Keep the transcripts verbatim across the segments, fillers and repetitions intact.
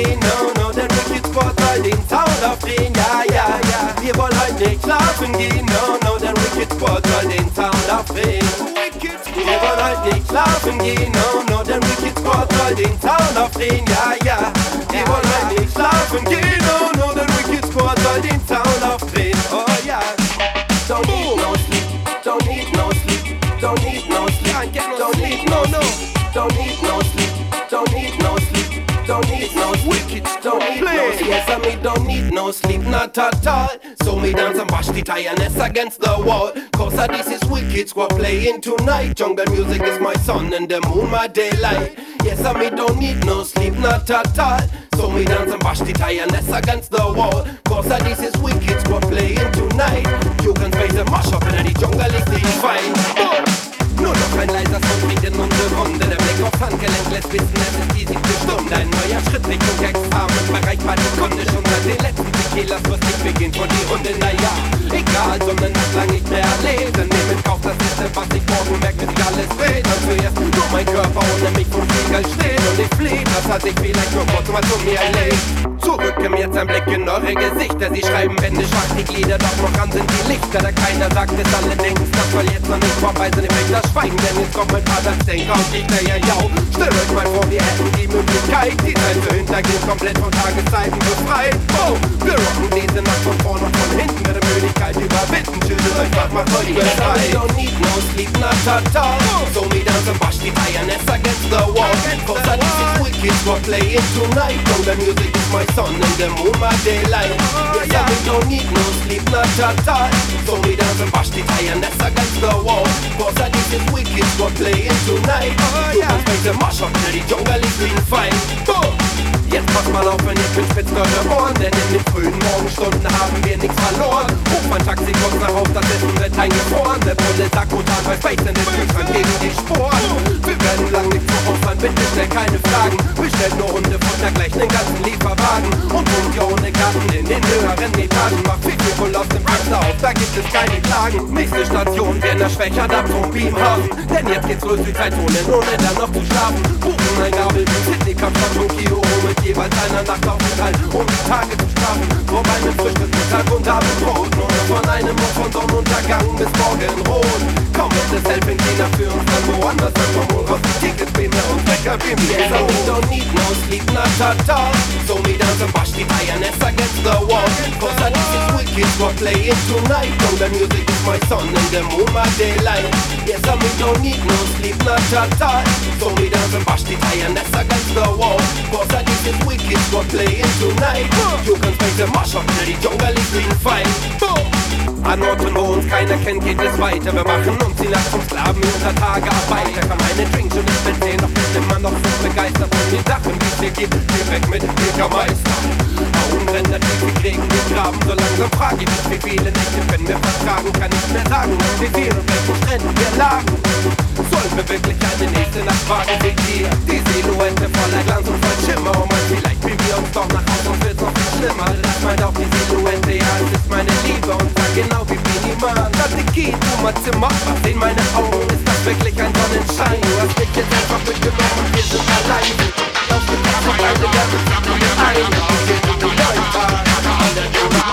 gehen, no, no, der Wicked Squad soll den Sound aufdrehen, ja, ja, ja. Wir wollen heute nicht schlafen gehen, no, no, der Wicked Squad soll den Sound aufdrehen. Wir wollen heute nicht schlafen gehen, no, no, der Wicked Squad soll den Sound aufdrehen, ja, ja. Wir wollen heute nicht schlafen gehen, no, no, der Wicked Squad soll den Sound aufdrehen, oh ja. Don't need no sleep, don't need no sleep, don't need no sleep, don't need no no, don't need no sleep, don't need no sleep, don't need no wicked, don't need no sleep. Yes, I mean don't need no sleep, not at all. So me dance and bash the tiredness against the wall. Cause uh, this is Wicked Squad playing tonight. Jungle music is my sun and the moon my daylight. Yes, I mean don't need no sleep, not at all. So me dance and bash the tiredness against the wall. Cause uh, this is Wicked Squad playing tonight. You can face a mash up in the jungle is the fine. Oh. Nur noch ein leiser Sound bringt in unsere Runde. Der Blick aufs Handgelenk lässt wissen, es ist die siebte Stunde. Ein neuer Schritt Richtung Examen, erreichbar die Kunde. Schon seit den letzten Tequilas, was nicht beginnt von die Runde. Naja, egal, sondern das lang nicht mehr erlesen. Nehm in Kauf das Liste, was ich morgen merkt, wenn sich alles dreht. Und zuerst nur mein Körper ohne mich vom Spiegel steht. Und ich flieh, das hat sich vielleicht nur kurz mal zu mir erlebt. Zurückem jetzt ein Blick in eure Gesichter. Sie schreiben Bände, schwach die Glieder, doch noch an sind die Lichter. Da keiner sagt es, alle denken, das soll jetzt noch nicht vorbei sein. Ich das Schweigen, denn jetzt kommt mein Vater, denkt auf die ja, ja. Stellt euch mal vor, wir hätten die Möglichkeit, die Zeit zu hintergehen, komplett von Tageszeiten befreit. Oh, wir rocken diese Nacht von vorne und von hinten mit der Möglichkeit überwinden. Chillt euch, was macht euch bereit? Don't need no sleep, not at all. So me dance and bash the tiredness against the wall. Cause I this is Wicked Squad playing tonight. From the music is my sun and the moon my daylight. Yes, I mean don't need no sleep, not at all. So me dance and bash the tiredness against the wall. Cause I this is Wicked Squad playing tonight. Du kannst mich der Marsch auf, die Jungle ist clean fein. Jetzt pass mal auf, wenn ihr bin spitzt eure Ohren. Denn in den frühen Morgenstunden haben wir nichts verloren. Ruf mein Taxi kurz nach Haus, das Essen wird eingefroren. Der Bulle sagt brutal bei Space in den Kühlschrank gegen die Sporen. Wir werden lang nicht zu opfern, bitte stell keine Fragen. Bestellt nur Hundefutter, gleich den ganzen Lieferwagen. Und wohnt ihr ohne Garten in den höheren Etagen. Macht viel Kohl aus dem Fenster auf, da gibt es keine Klagen. Nächste Station, Werner Schwächer, da zum Beamhafen. Denn jetzt geht's los, die Zeitzone, ohne dann noch zu schlafen. Buchen ein Gabel, Sydney, Kapstadt und Kio mit jeweils einer Nachtaufenthalt, um die Tage zu strafen. Vorbei mit frisches Mittag und Abendbrot. Nur von einem Uhr von Sonnenuntergang bis Morgenrot. Komm mit das Helping China für uns dann woanders. Dann komm wohl raus, die Tickets beam mir und Wecker beam mir. So we don't need no sleep, not at all. So me dance and bash the tiredness against the wall. Cause I this is Wicked Squad playing tonight. From the music is my sun and the moon my daylight. Yes, I me don't need no sleep, not at all. So me dance and bash the tiredness against the wall. Cause I this is Wicked Squad playing tonight. You can space the mash up, die Jungle ist clean fein. An Orten, wo uns keiner kennt, geht es weiter. Wir machen uns die Nacht vom Sklaven unter Tage Arbeit. Da kann meine Drinks und ich bin sehen, doch bin immer noch so begeistert von den Sachen, wie es hier geht. Geh weg mit dem Bürgermeister. Warum rennt der Tief, wir kriegen wir graben. So langsam frage ich mich, wie viele Nächte können wir vertragen. Kann nicht mehr sagen, wie viel und welchen Stränden wir lagen. Sollen wir wirklich eine nächste Nacht wagen, seht ihr die Silhouette voller Glanz und voll Schimmer. Und man vielleicht wie wir uns doch nach Hause und wird's noch viel schlimmer. Das meint auch die Silhouette, ja, es ist meine Liebe und sag genau wie minimal. Strategie, du mein Zimmer, was in meine Augen ist das wirklich ein Sonnenschein. Du hast mich jetzt einfach mitgenommen und wir sind allein. Das gibt es noch eine ganze Sache mit ein. Wir sind die Läufer, alle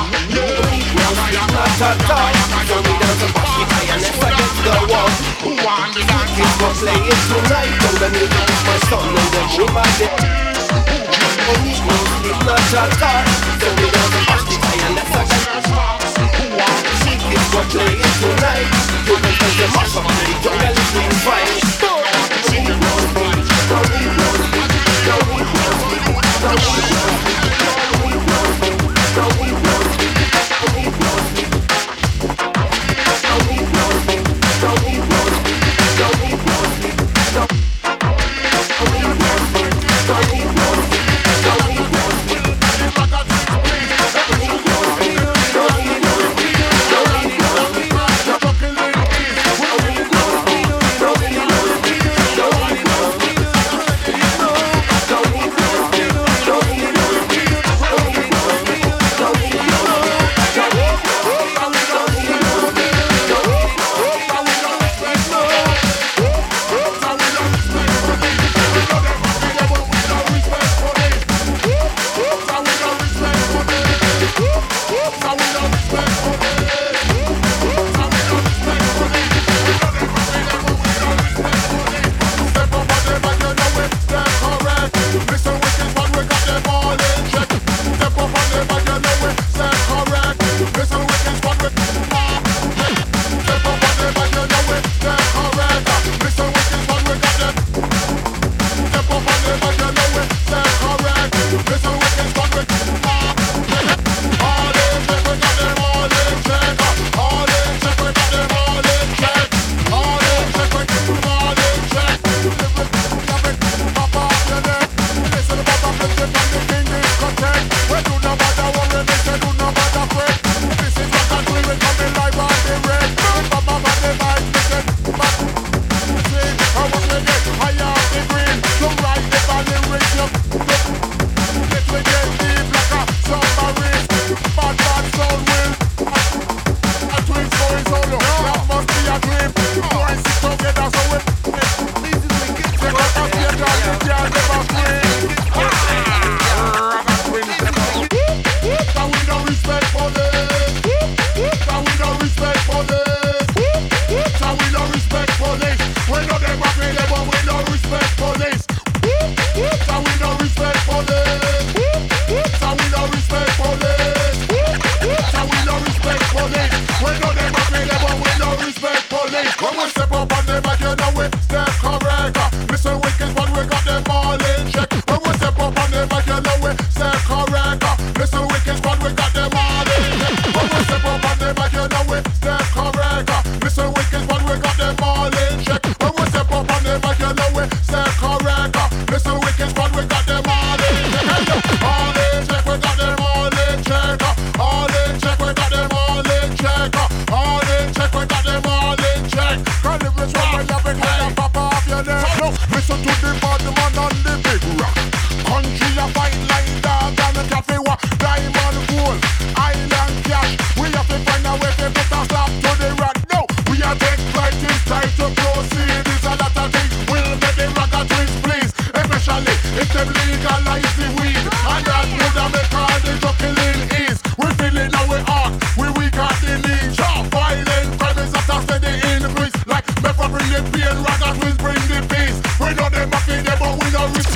Ta-ta, so me down to bash the tiredness against the wall. Wicked Squad playing tonight. From the music is my sun and the moon my day. Don't need no sleep, not at all. So me down to bash the tiredness against the wall. Wicked Squad playing tonight. You can take the mash up, the jungle is clean fine. Don't need no sleep, don't need no sleep, don't need no sleep, don't need no sleep, don't need no sleep, don't need no sleep, don't need no sleep.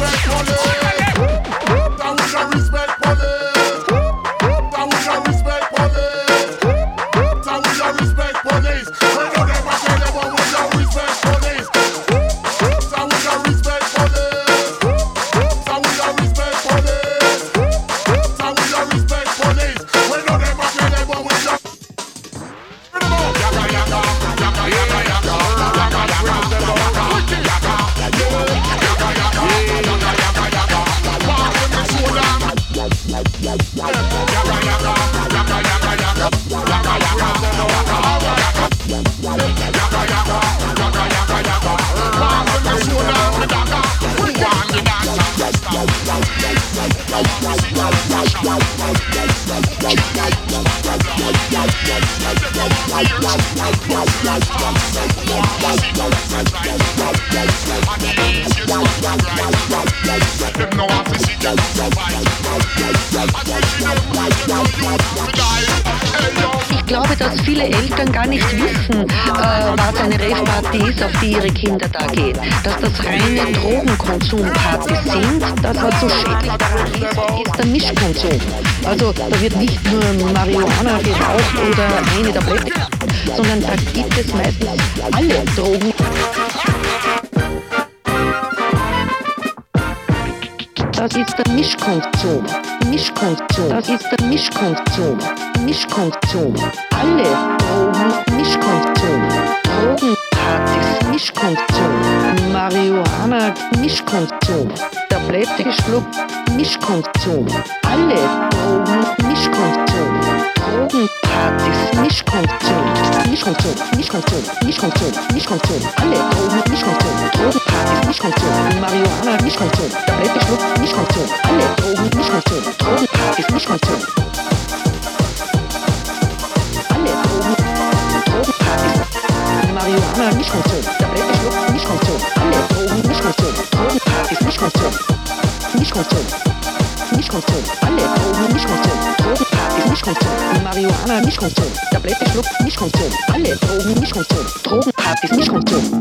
Ich glaube, dass viele Eltern gar nicht wissen, äh, was eine Rave-Party ist, auf die ihre Kinder da gehen. Dass das reine Drogenkonsumpartys sind, das was so schädlich daran ist, ist der Mischkonsum. Also da wird nicht nur Marihuana geraucht oder eine Tablette, sondern da gibt es meistens alle Drogen. Das ist der Mischkonsum. Mischkonsum. Das ist der Mischkonsum. Mischkonsum. Alle Drogen, Mischkonsum. Drogenpartys, Mischkonsum. Marihuana, Mischkonsum. Tablette geschluckt, Mischkonsum. Alle Drogen, Mischkonsum. Drogenpartys, Mischkonsum. Mischkonsum, Mischkonsum, Mischkonsum, Mischkonsum. Alle Drogen, Mischkonsum. Drogenpartys, Mischkonsum. Marihuana, Mischkonsum. Tablette geschluckt, Mischkonsum. Alle Drogen, Mischkonsum. Drogenpartys, Mischkonsum. Alle Drogen, Drogenpartys. Marihuana, Mischkonsum. Tablette geschluckt, Mischkonsum. Alle Drogen, Mischkonsum. Drogenpartys, Mischkonsum. Mischkonsum. Mischkonsum. Alle Drogen, Mischkonsum. Drogenpartys, Mischkonsum. Marihuana, Mischkonsum. Tablette schluckt, Mischkonsum. Alle Drogen, Mischkonsum. Drogenpartys, Mischkonsum.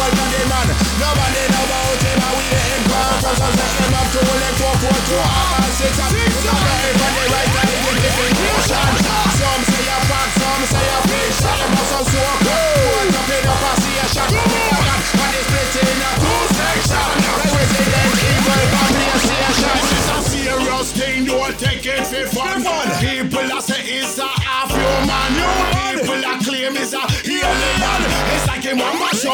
Nobody know about him, and we ain't part of us. Let them up to elect for to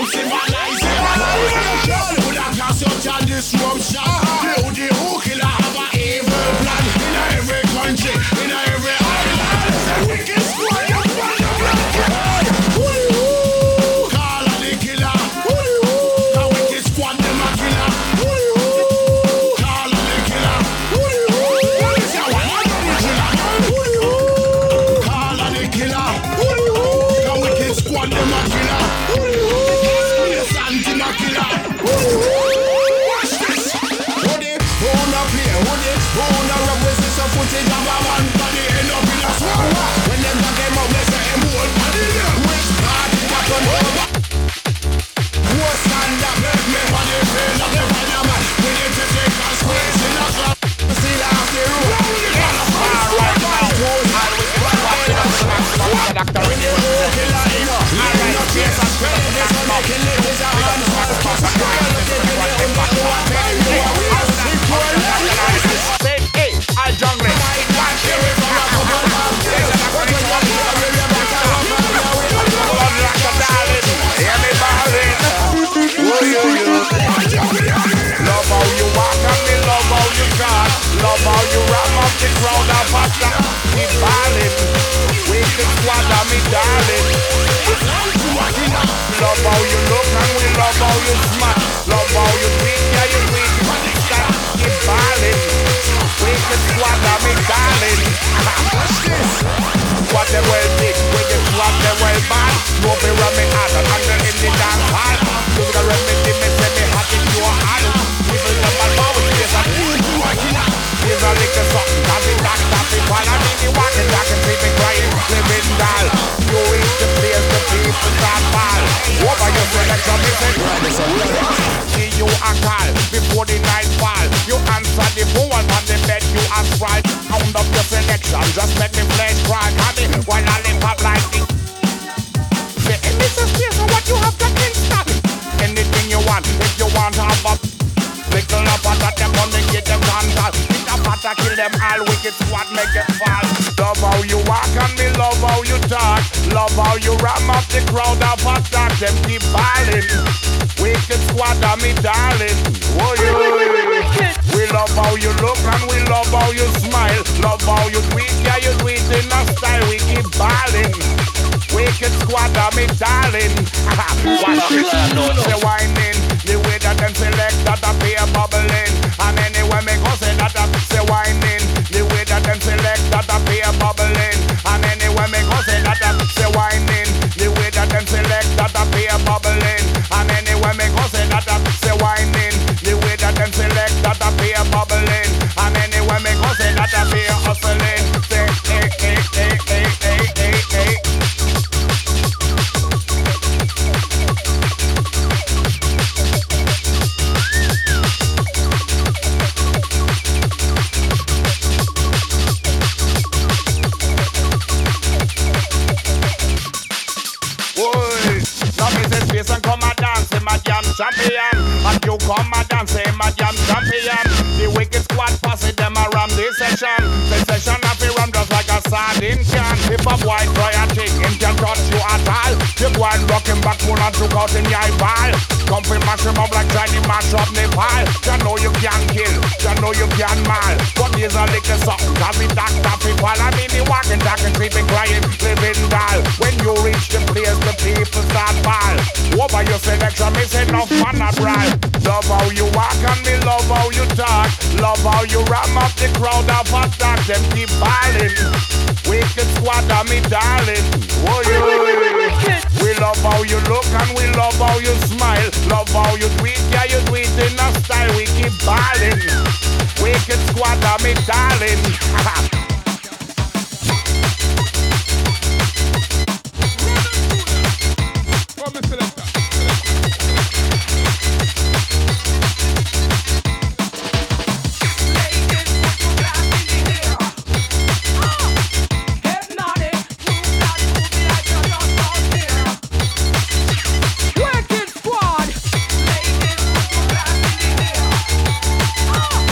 civilization. Would I cause such a disruption? You the who killer have a evil plan in every country, in every island. The wicked squad of one of blood. Call on the killer. The wicked squad them a killer. Call on the killer. What is your one of the killer? Call on the killer. The wicked squad them a killer. Yes, anti-ma killer. Watch this. Who the who no play? Who the who no rub with this footage of a man body end up in a swamp? When them dog them out, they say him old body. Which part is that on over? Who stand up? Make me body feel up the fireman. We need to take a squeeze in a club. See the after room. All right, now. Doctor, when you look in the ego, I ain't no case of credit. This one making it is a hand. Hey, I jungle. Love how you walk and me love how you talk. Love how you ram up the crowd and faster. Keep balling. Wake the squad and me darling. Love how you look and we love how you smile. Love how you tweet, yeah you tweet. Keep balling. Wake the squad and me darling. What they well big, when they swap they well bad. No be ramming hard and angle in the dance hall. You the remedy me say me hot in your hand. People them all bow with this and you do a killer. Here's a little something, tap it, tap, tap it. While I'm in the walking, talking, sleeping, crying, living doll. You reach the place, the people start fall. Over your selection, me say see you a call, before the night fall. You answer the phone on the bed, you ask right. Sound up your selection, just make me flesh cry. While I live up like this. Say, hey, Mister Space, what you have to install? Anything you want, if you want to have a little up at them, gonna get them contact. Hit a patter, kill them all, wicked squad, make them fall. Love how you walk and me love how you talk. Love how you ram up the crowd of attack. Them keep balling. Wicked squad and me darling. Oh, you. We love how you look and we love how you smile. Love how you tweet, yeah you tweet in a style. We keep balling. Wicked squad and me darling. Watch it, say whining. The way that them select that I pay a bubbling. And anyway me go say that I say whining. The way that them select that I pay a bubbling. And anyway me go say that I say whining. The way that them select that I pay a bubbling. And anyway me go say that I say whining. The way that them select that I pay a bubbling. And anyway me go say that I pay a hustling. Say hey hey hey hey hey hey hey. And come and dance, say my jam champion. And you come and dance, say my jam champion. The wicked squad pass it them around this session. The session have to run just like a sardine can. If a boy try a thing, him can touch you at all. The boy rocking back full and took out in your ball. Come and mash him up like Chinese mash up Nepal. You know you can kill, you know you can mal. But here's a little something, cause we doctor people. I mean the walking, talking, sleeping, crying, living doll. When you reach the place, the people start ball. Over your selection, me say no fun at right. Love how you walk and me love how you talk. Love how you ram up the crowd of attack. Them keep balling. Wicked squad and me darling. Oh, you. We love how you look and we love how you smile. Love how you tweet, yeah you tweet in a style. We keep balling. Wicked squad and me darling. Wicked squad.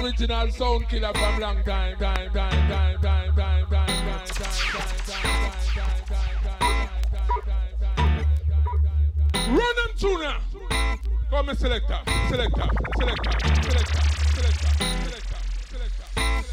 original sound killer from long time, time, time, time, time, time, time, time, time, time. Run them tuna. Come a selector, selector, selector, selector, selector, selector, selector.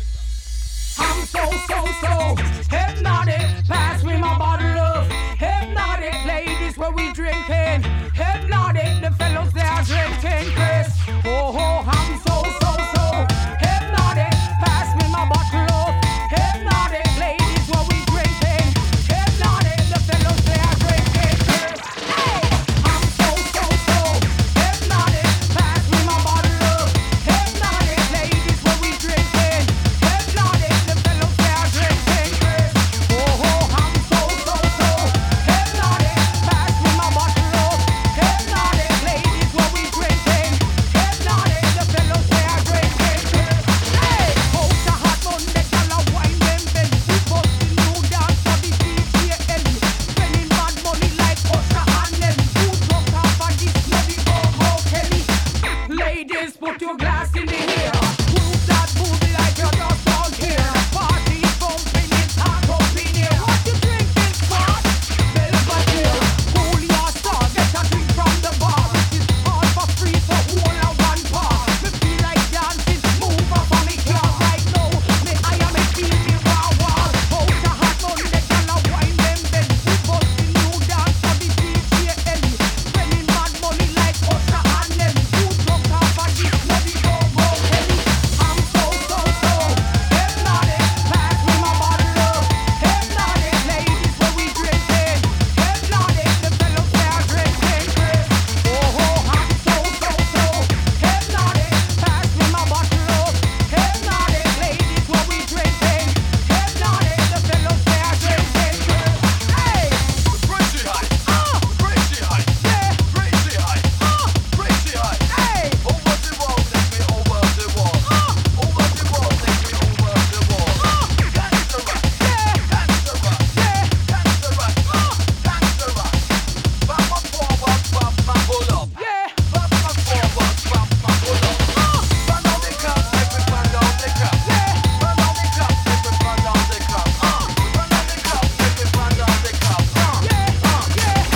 I'm so, so, so hypnotic. Pass me my bottle of hypnotic. Ladies, where we drinking hypnotic. The fellows they are drinking Chris. Oh, oh, I'm so, so, so hypnotic. Pass me my bottle of hypnotic. Ladies, where we drinking hypnotic. The fellows they are drinking Chris. Hey, I'm so, so, so hypnotic. Pass me my bottle of hypnotic. Ladies, where we drinking hypnotic. The fellows they are drinking Chris. Oh, oh, I'm so, so, so hypnotic. Pass me my bottle of hypnotic. Ladies, where we drinking hypnotic. The fellows they are drinking Chris. Hey, hold the hot Monday, gyal a wine them belly. We bustin' new dance for the D J Ellie. Spending bad money like Usher and Nelly. Who drunk off of this bloody go-go Kelly? Ladies, put your glass in the air. Move that booty like you're just out here. Party is bumping, it's hot up in here. What you drinking, squad? Belvedere. Cool your star, get a drink from the bar. Which is all for free for all of one bar. Me feel like dancing, move up on me car right now. Me I am a feel me wow wow. Out the hot Monday, gyal a wine them belly. We bustin' new dance for the D J Ellie. Spending mad money like Usher and Nelly. Who drunk off of this bloody go-go Kelly? I'm so, so, so hypnotic. Pass me my bottle of hypnotic. Ladies, where we drinking hypnotic. The fellows they are drinking Chris. Oh, oh, I'm so, so, so hypnotic. Pass me my bottle of hypnotic. Ladies, where we drinking hypnotic. The fellows they are drinking Chris. Hey, Crazy high, ah, crazy high, yeah, crazy high, ah, crazy high. hey, Over the wall, take me over the wall. ah, Over the wall, take me over the wall. ah, Gangsta rock, yeah, gangsta rock, yeah, gangsta rock, ah, gangsta rock. Bop my forward, bop my pull up. yeah, Bop my forward, bop my pull up. ah, Run on the cup, make me run on the cup. yeah. Run on the cup, make me run on the cup. Uh, run on the cup, make me run on the cup. Uh, Yeah, uh, yeah.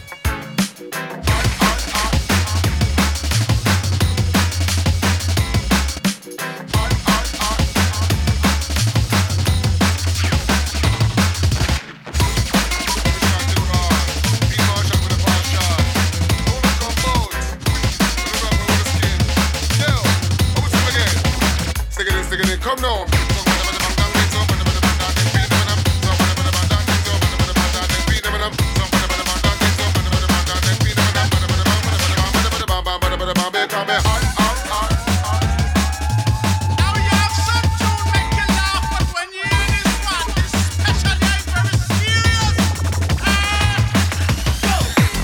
yeah. Come now. Now you have some tune make you laugh, but when you hear this one, especially I'm very serious. Ah, go.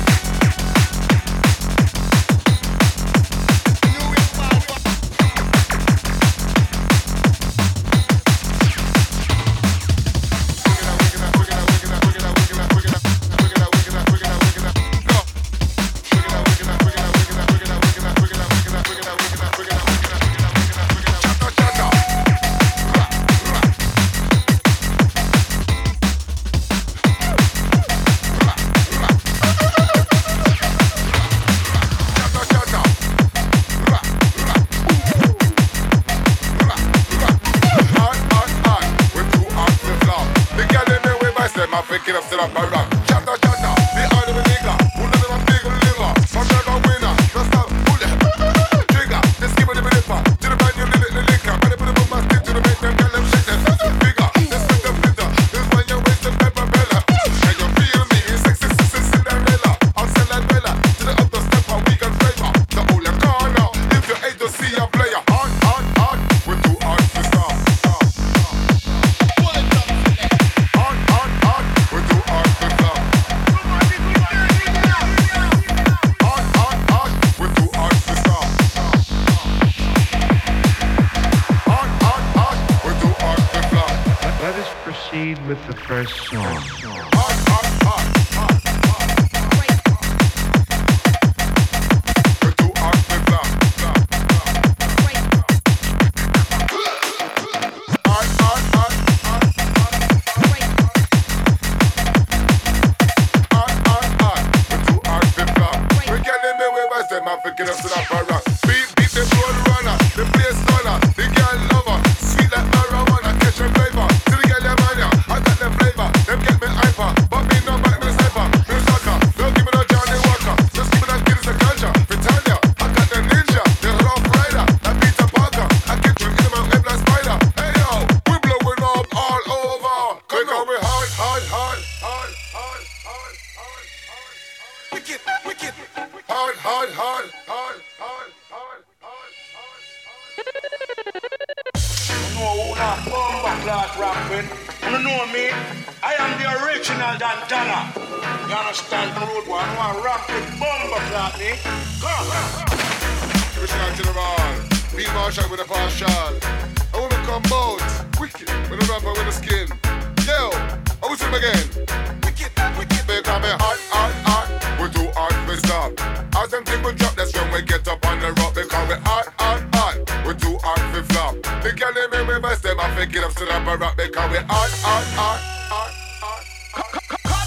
You will power. Pick it up, sit up, my rock. Chatter, chatter, the other nigga. Who let them big liver? My brother winner, just a bullet. Trigger, just give it a bit of to the brand new little liquor. Better put it on my stick to the make them get them shit. That's bigger, this with the fitter. This when you waste the pepper bella. And you feel me, sexy, sexy Cinderella. I'll sell that bella to the upper step of weekend flavor. The only corner, if you hate to see a player. Hard, hard, hard, we're too hard to stop. Hard, hard, hard, we're too hard to stop. Hard, hard, hard, we're too hard to stop. Hard, hard, hard, we're too hard to stop. Let us proceed with the first song. Hard, hard, hard, hard, hard. We're too hard to stop. Stop, stop, stop. class rapping. You know me? I am the original Dantana. You understand the road one? I want to rock with bomber clap me. Come on. Original General. Be Marshall with a partial. I want to come out. Wicked. With a rapper with a skin. Yo. I will sing again. Wicked. Wicked. Because me hot, hot, hot. We too hot for stop. As them people drop, that's when we get up on the rock. Because we hot, hot, hot. We too hot for flop. The girl in me, we best them. I think it up to the rock. Because we hot, hot, hot, hot, hot. Cut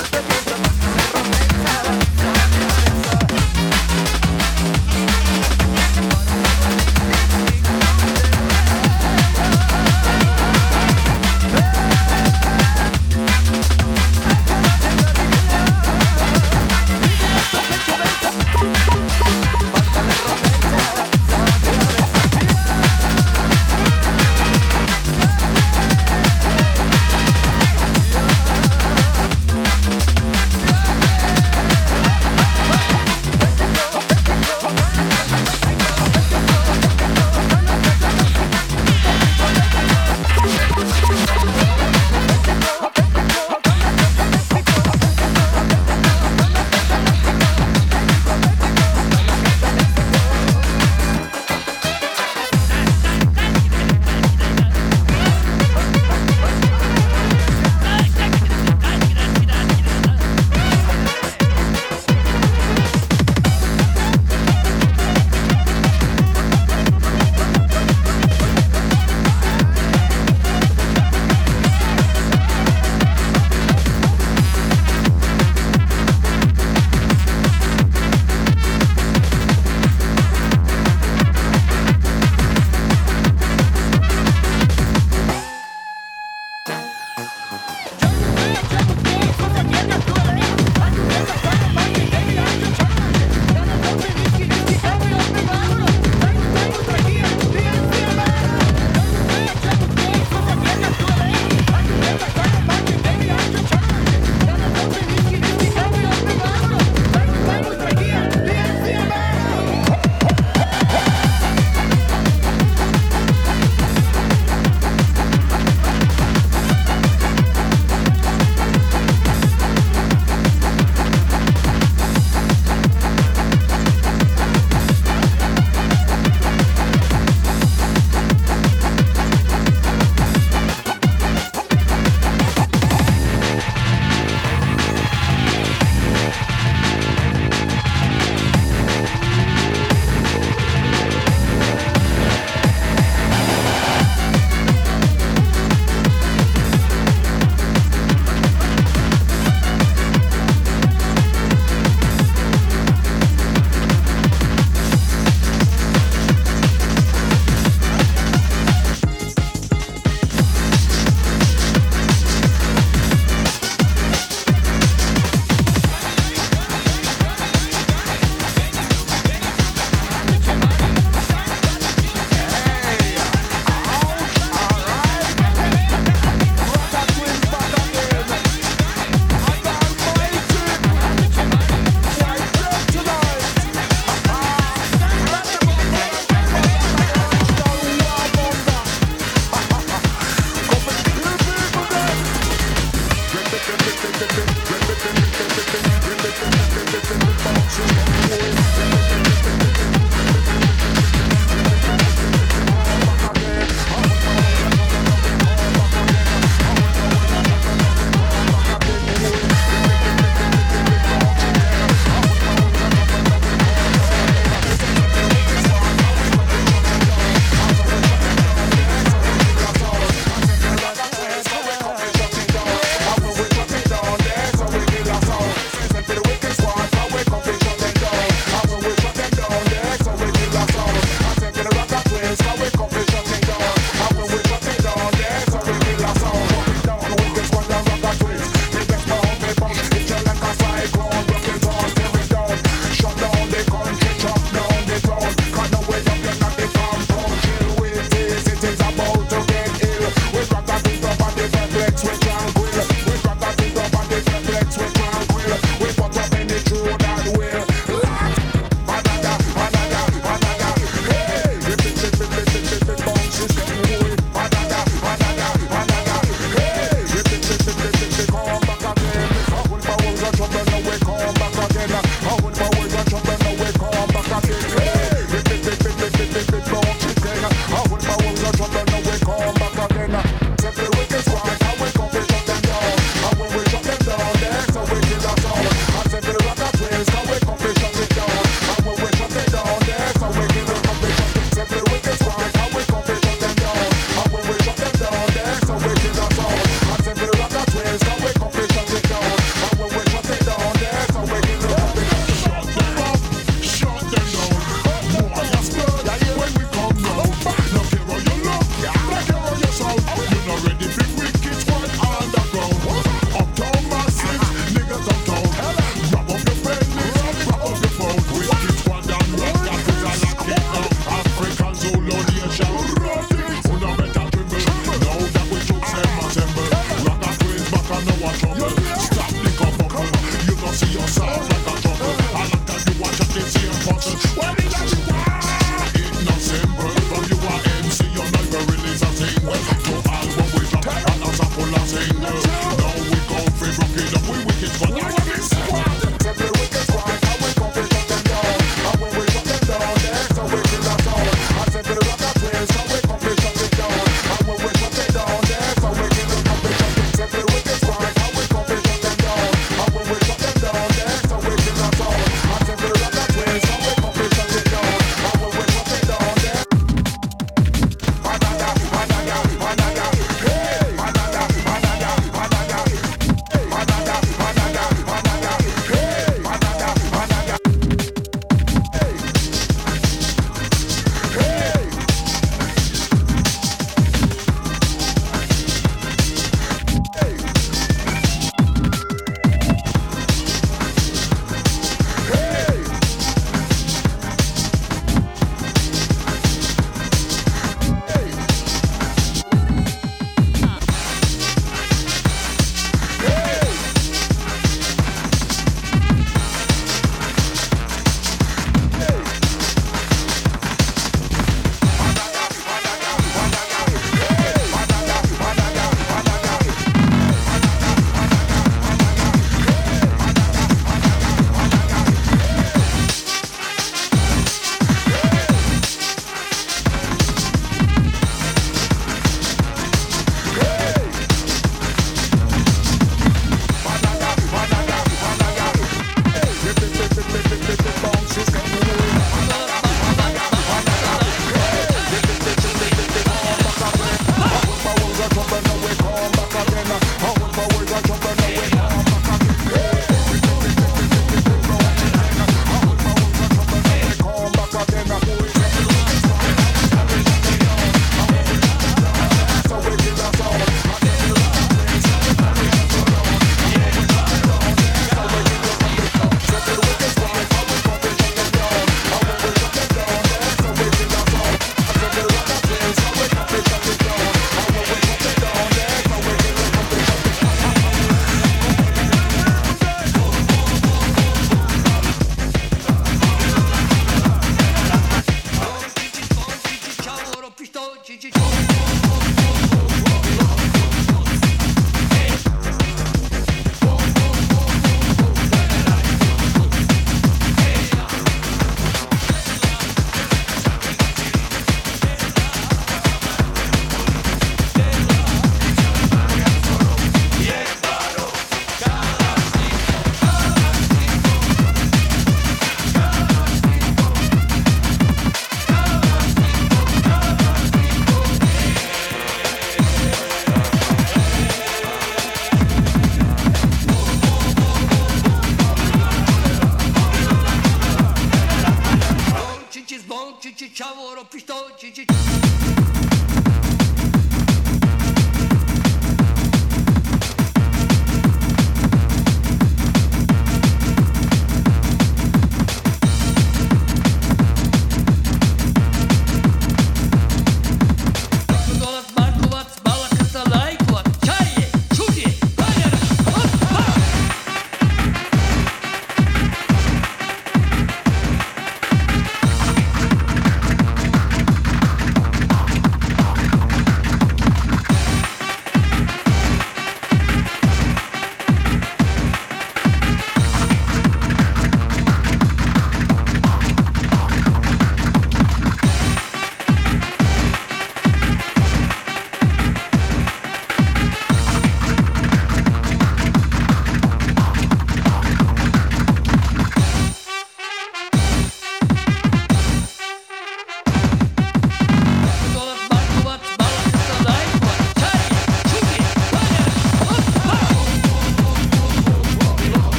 down there.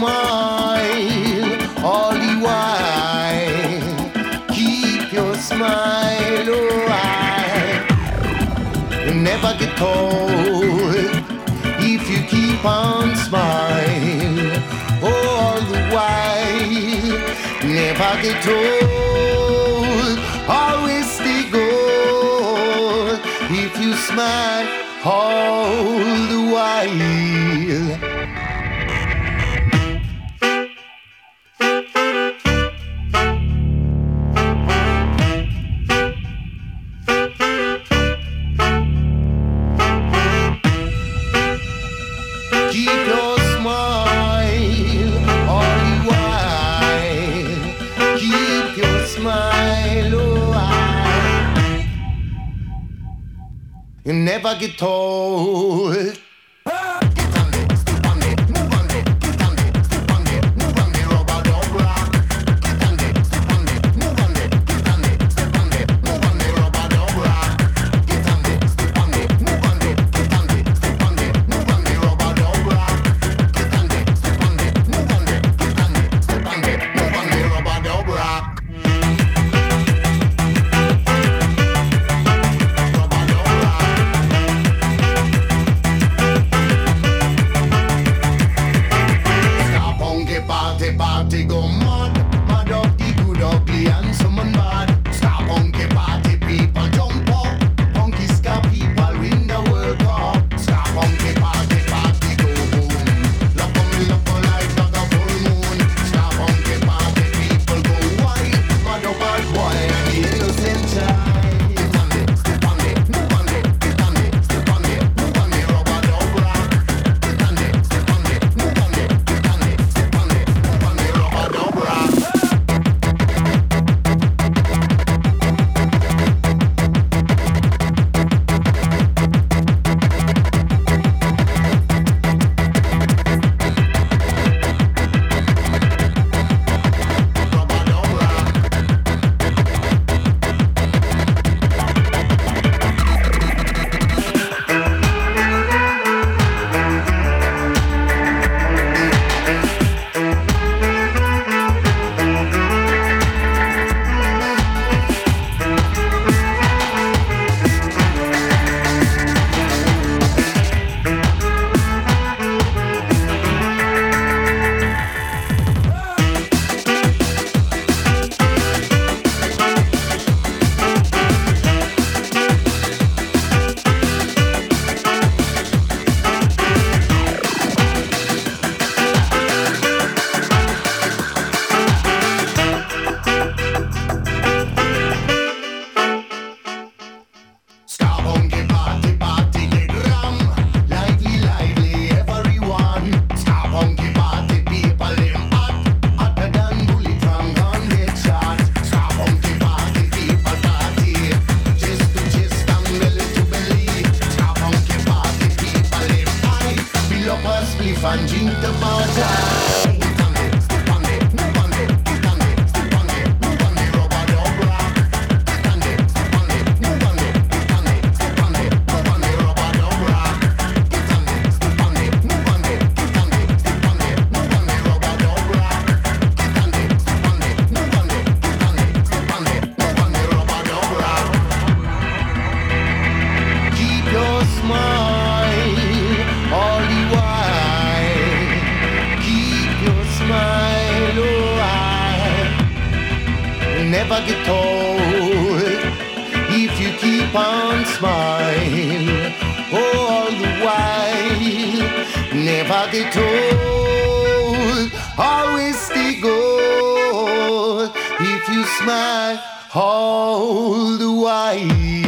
smile all the while. Keep your smile, oh I. You never get cold if you keep on smiling all the while. Never get old, always stay gold if you smile all the while. Keep your smile all the while. Keep your smile, oh I. You never get old. Never get old if you keep on smiling all the while. Never get old, always stay gold if you smile all the while.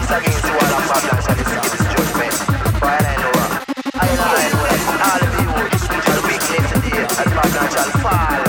Once again, to all of Babylon shall receive this judgment. For I know, I know, I know, all of you shall weakness today, and Babylon shall fall.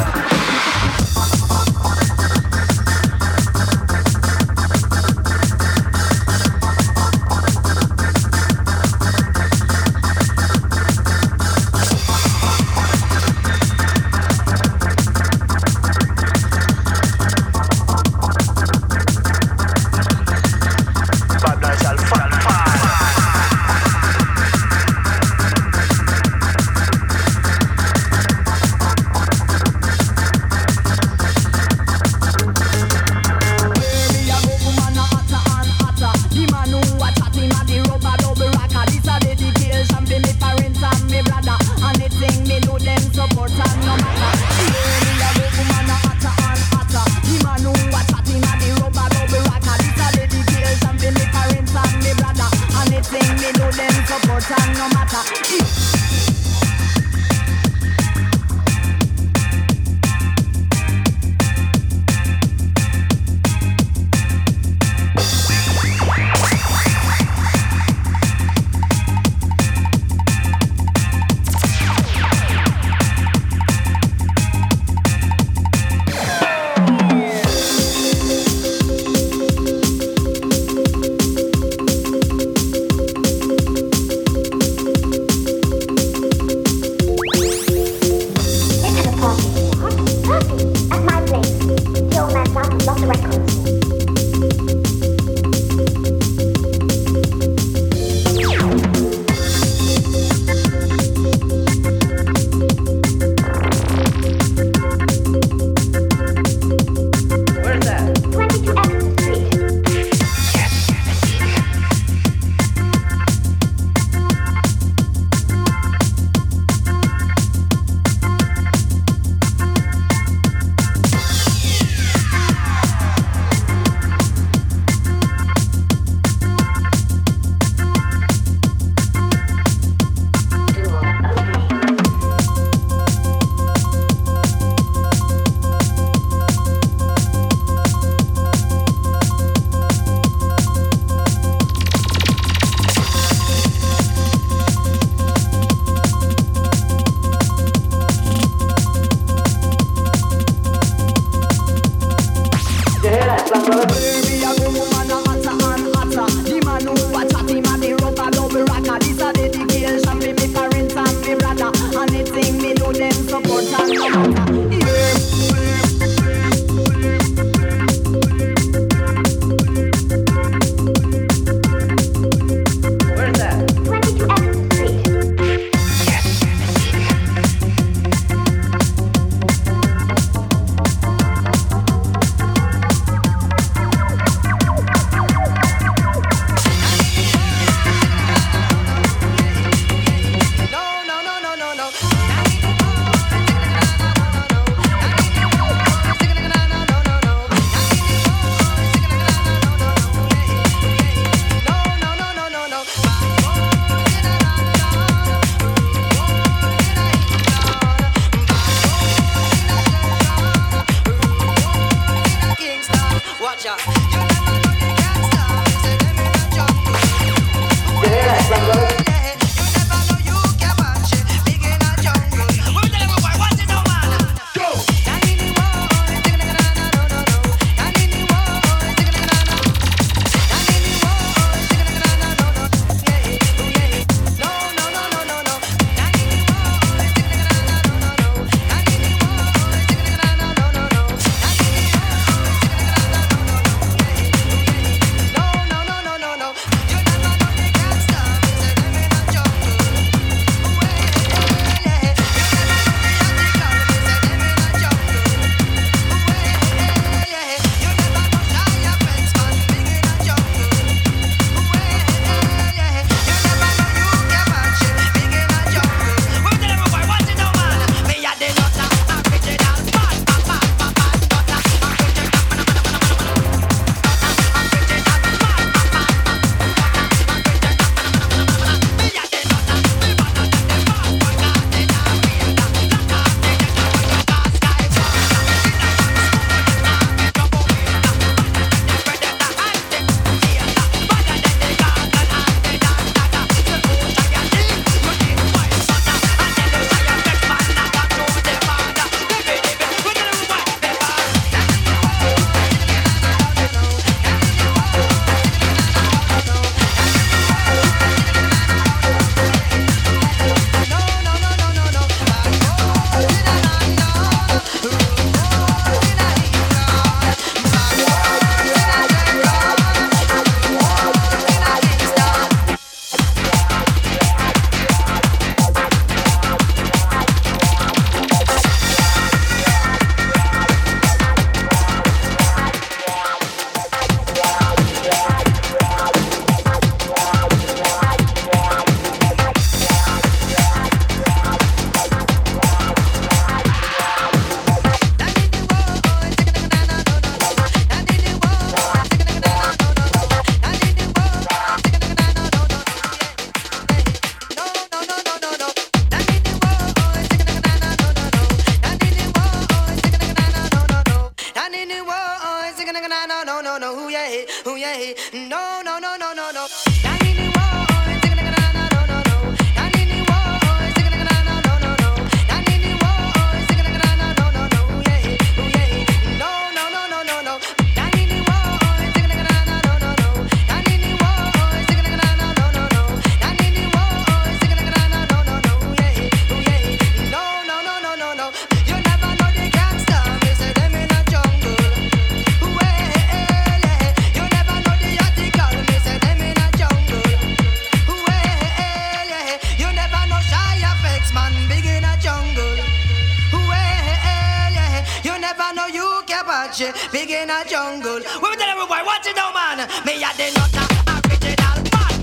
no, no, ooh yeah, ooh yeah, no, no, no, no, no, no. Big in a jungle. We will tell everybody, watch it now, man. Me at the nutter, original man.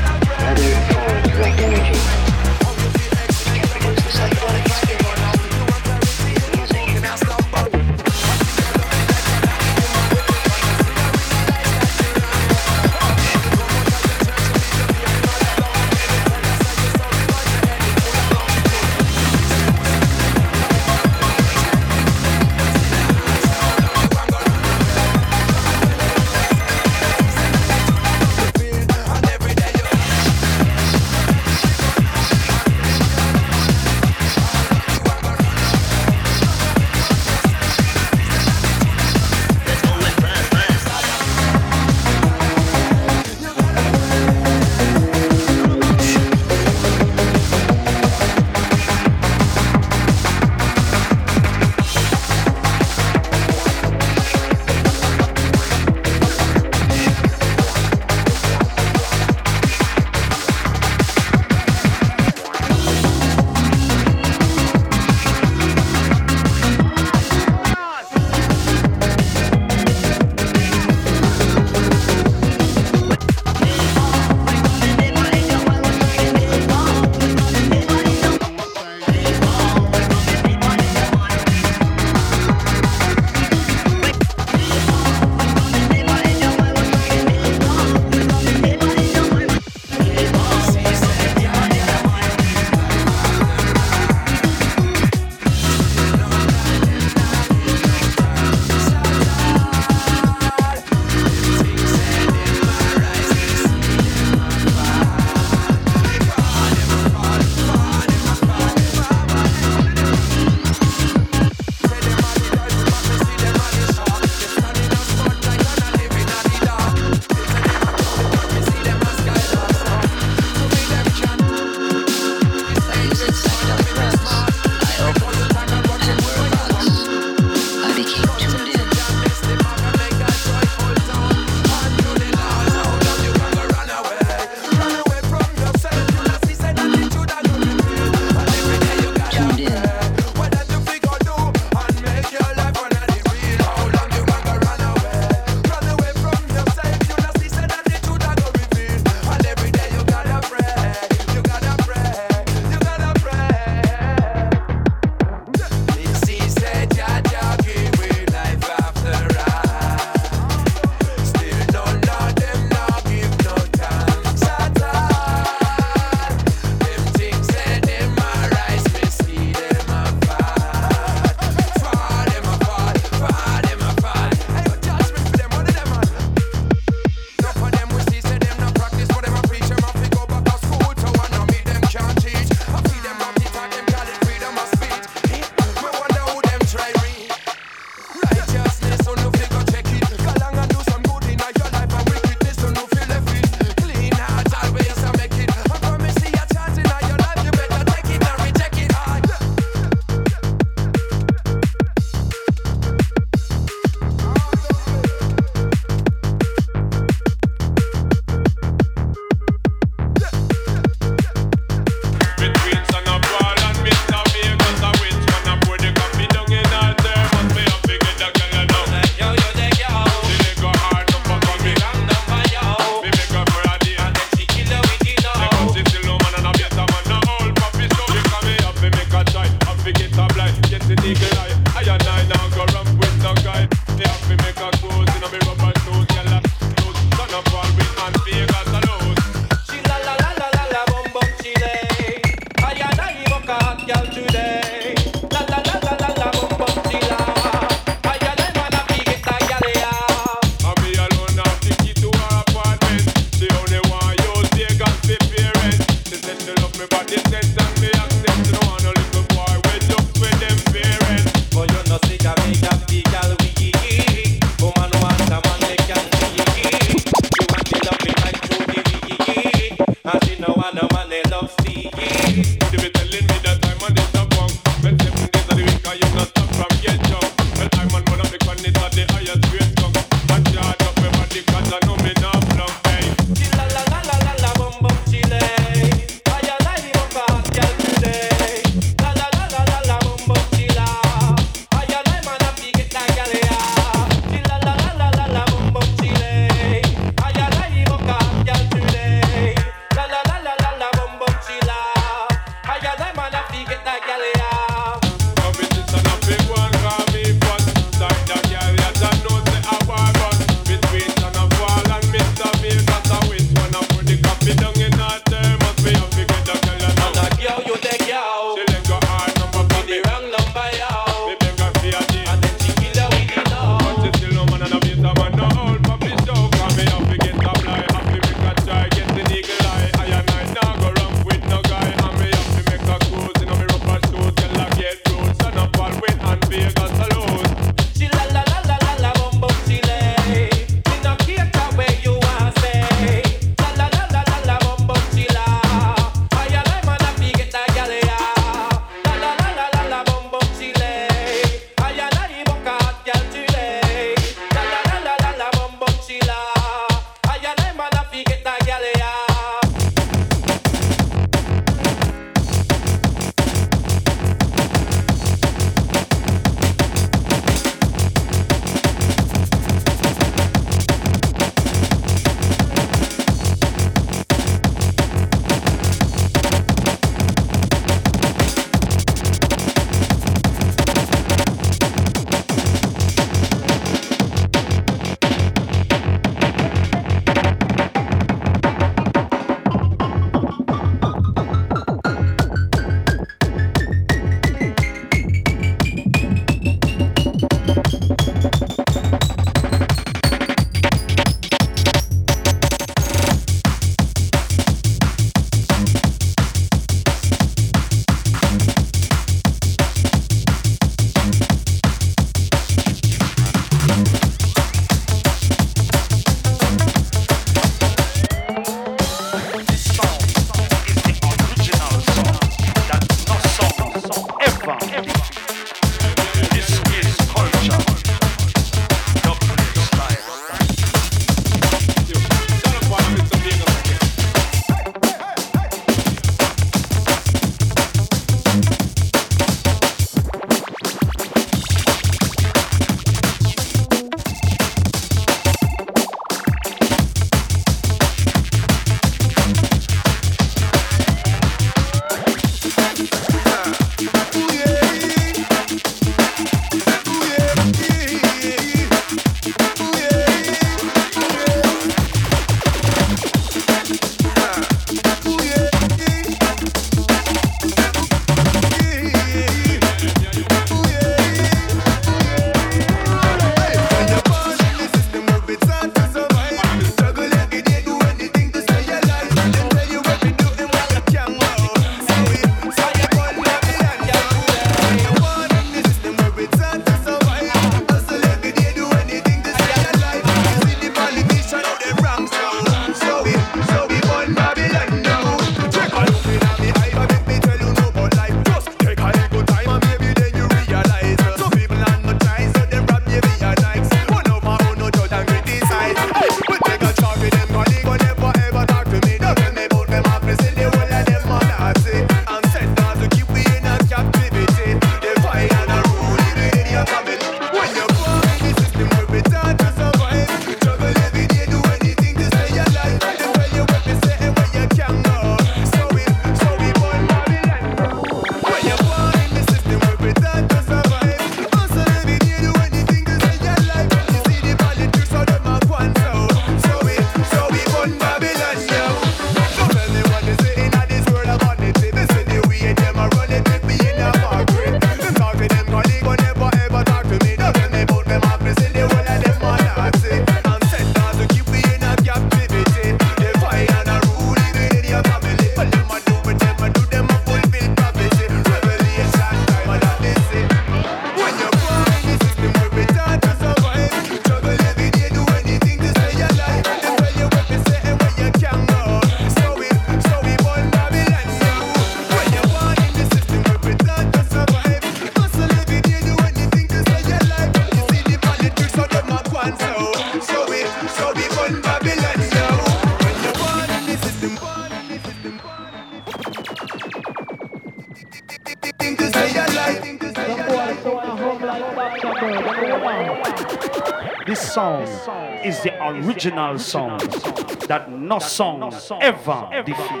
This song is the original song that no song ever defeat.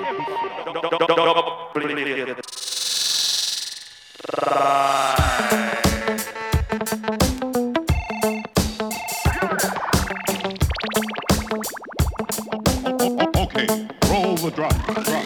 Okay, roll the drum, drum, drum.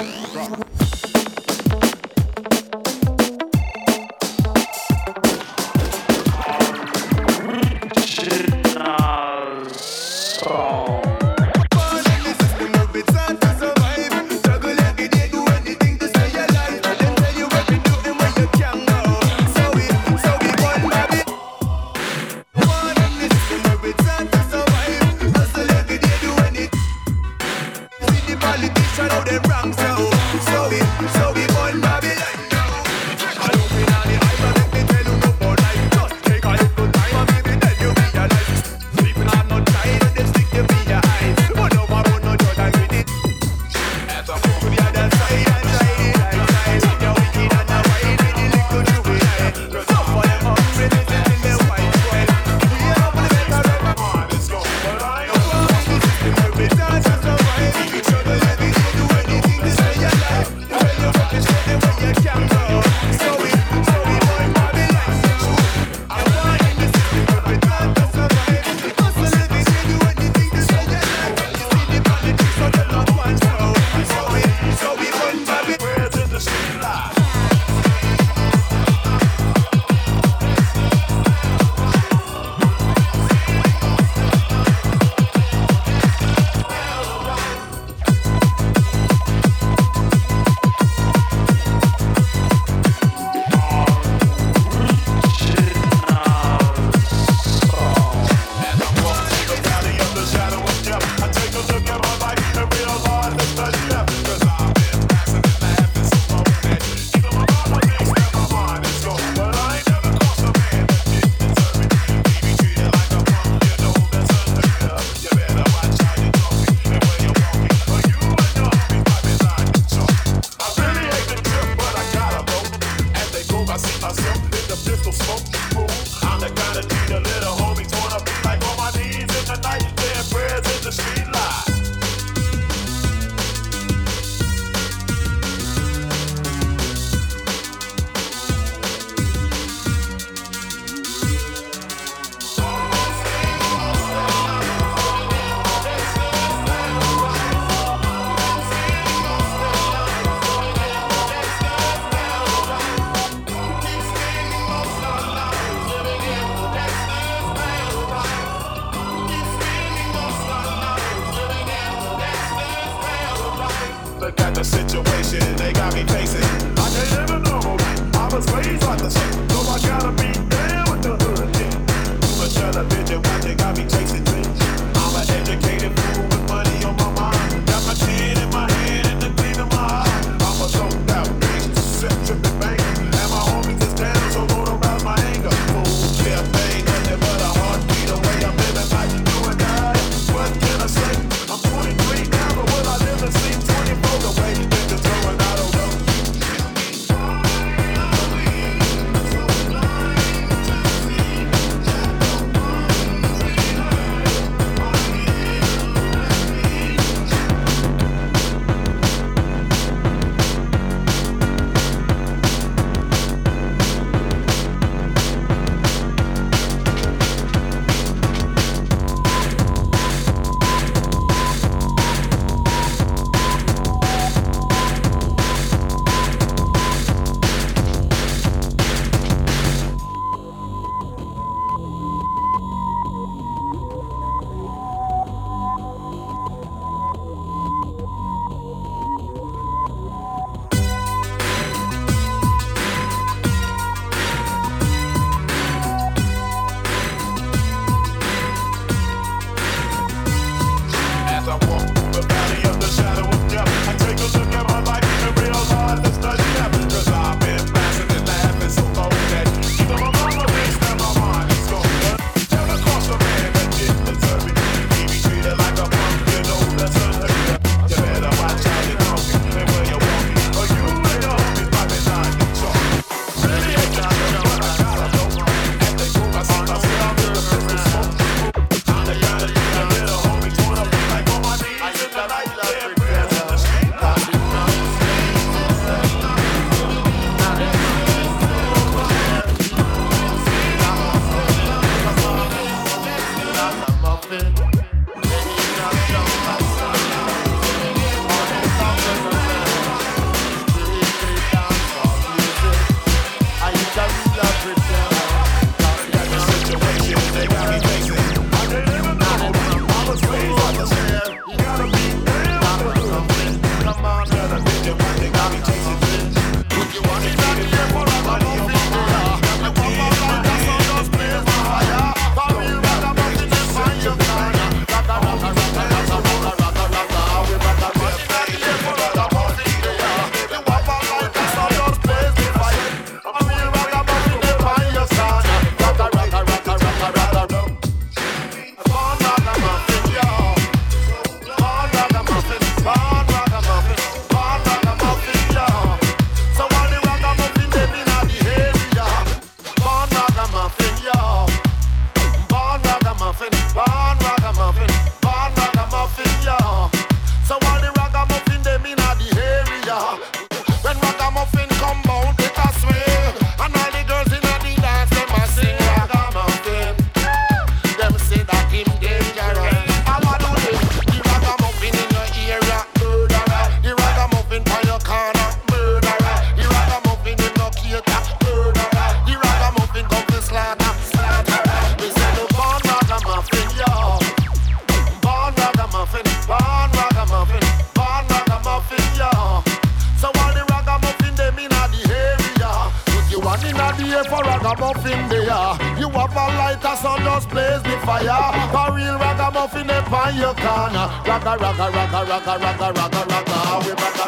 here for ragamuffin there. You have a lighter, so just blaze the fire. For real ragamuffin up on your corner. Raga, raga, raga, raga, raga, raga, raga. We raga.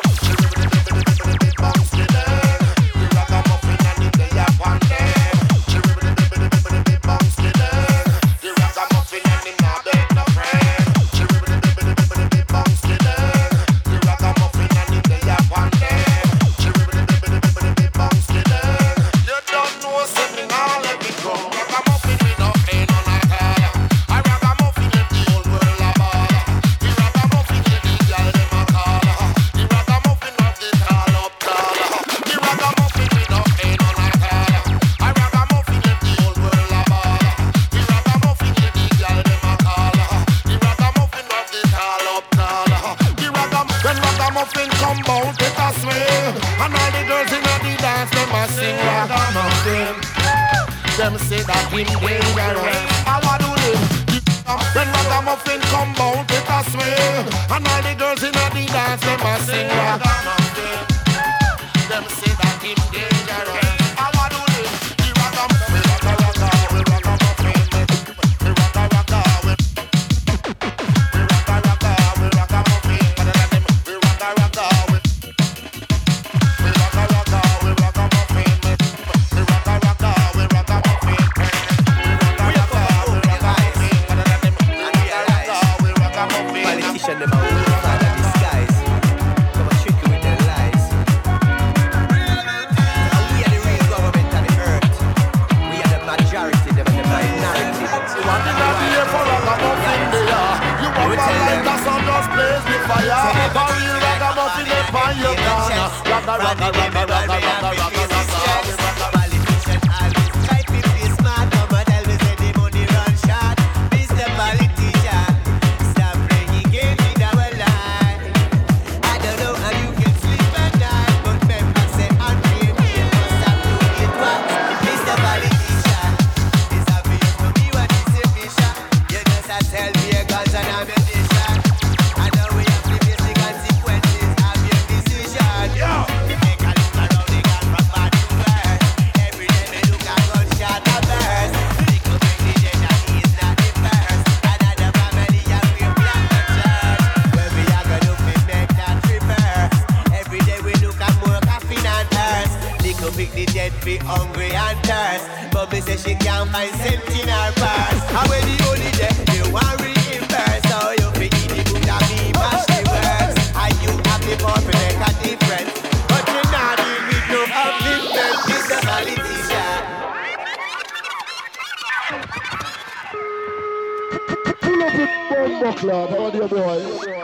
Them say that him dangerous. I want to live. When ragamuffin come out, it a swing. And all the girls in the dance, them a sing ragamuffin. Them say that him dangerous. I want to live. The ragamuffin, raga raga, we ragamuffin. We raga raga, we we raga raga, we ragamuffin. We raga raga, we we raga raga, we ragamuffin. We raga raga, we ragamuffin. Politician them out with father disguise. Come and trick you with their lies. Now we are the real government on the earth. We are the majority, them and the minority. You want to not be here for ragamuffin there. You want to like us on those blaze the fire. For real ragamuffin up on your corner. Raga raga raga raga raga raga raga. Politician always try to be smart. Come and tell me say the money run short. Mister Politician, stop playing games with our life. I don't know how you can sleep at night, but members say unreal pain must have to get wax. Mister Politician, it's obvious to me what is your mission. You just have to tell me a guns and ammunition. I know we have to face the consequences of your decision. Yo! You make a look around the gun from bad to worse. Every day we look at gunshot a burst. Little bring the dead and he is not the first. Another family and we plan the church. When we are gonna look, we make that reverse. Every day we look at more coffin and hearse. Little big the dead be hungry and thirst. But me say she can't find cent in her purse. And when the only day you want reimburse. So you fi eat the food and me mash the works. And you have the power to make a difference. But you not deal with no upliftment. Mister Politician. Pull up the bomb club, how are you, boy?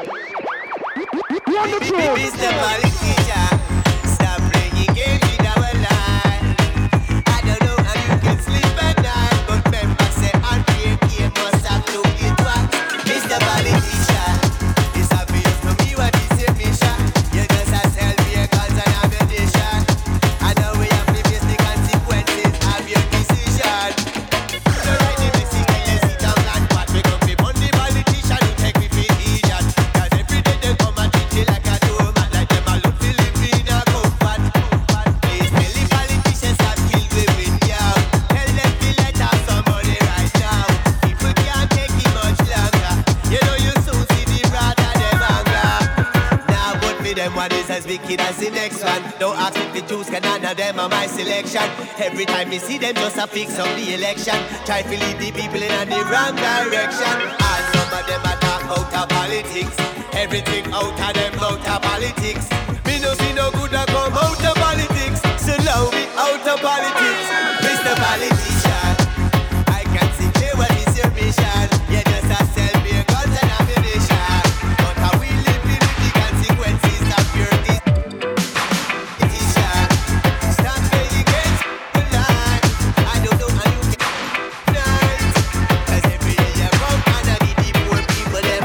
Wonderful! Mister Politician, stop playing games with our life. I don't know how you can sleep at night, but members say unreal game must have to get wax. Mister Politician, it's obvious to me what is your mission. You just have to tell me a guns and ammunition. I know we have to face the consequences of your decision. So right the Mexican, you sit down and what we come be Monday politician who take me for idiot. Cause every day they come and treat you like a doormat, like them a look Filipina comfort. Please tell the politicians that kill women young. Tell them to let out somebody right now. People can't take it much longer. You know you soon see the brother them anger. Now but me them one is as wicked as the next one. Don't ask if the Jews can none of them are my selection. Every time you see them just a fix up the election. Try to lead the people in the wrong direction. And some of them are talk out of politics. Everything out of them out of politics. Me no see no good that come out of politics. So now we out of politics. Mister Politician, I can see clear what is your mission. You just a sell me a guns and ammunition. But how we living with the consequences of your decision. Stop playing games with life. I don't know how you can night. Cause every day you come and I need the poor people them.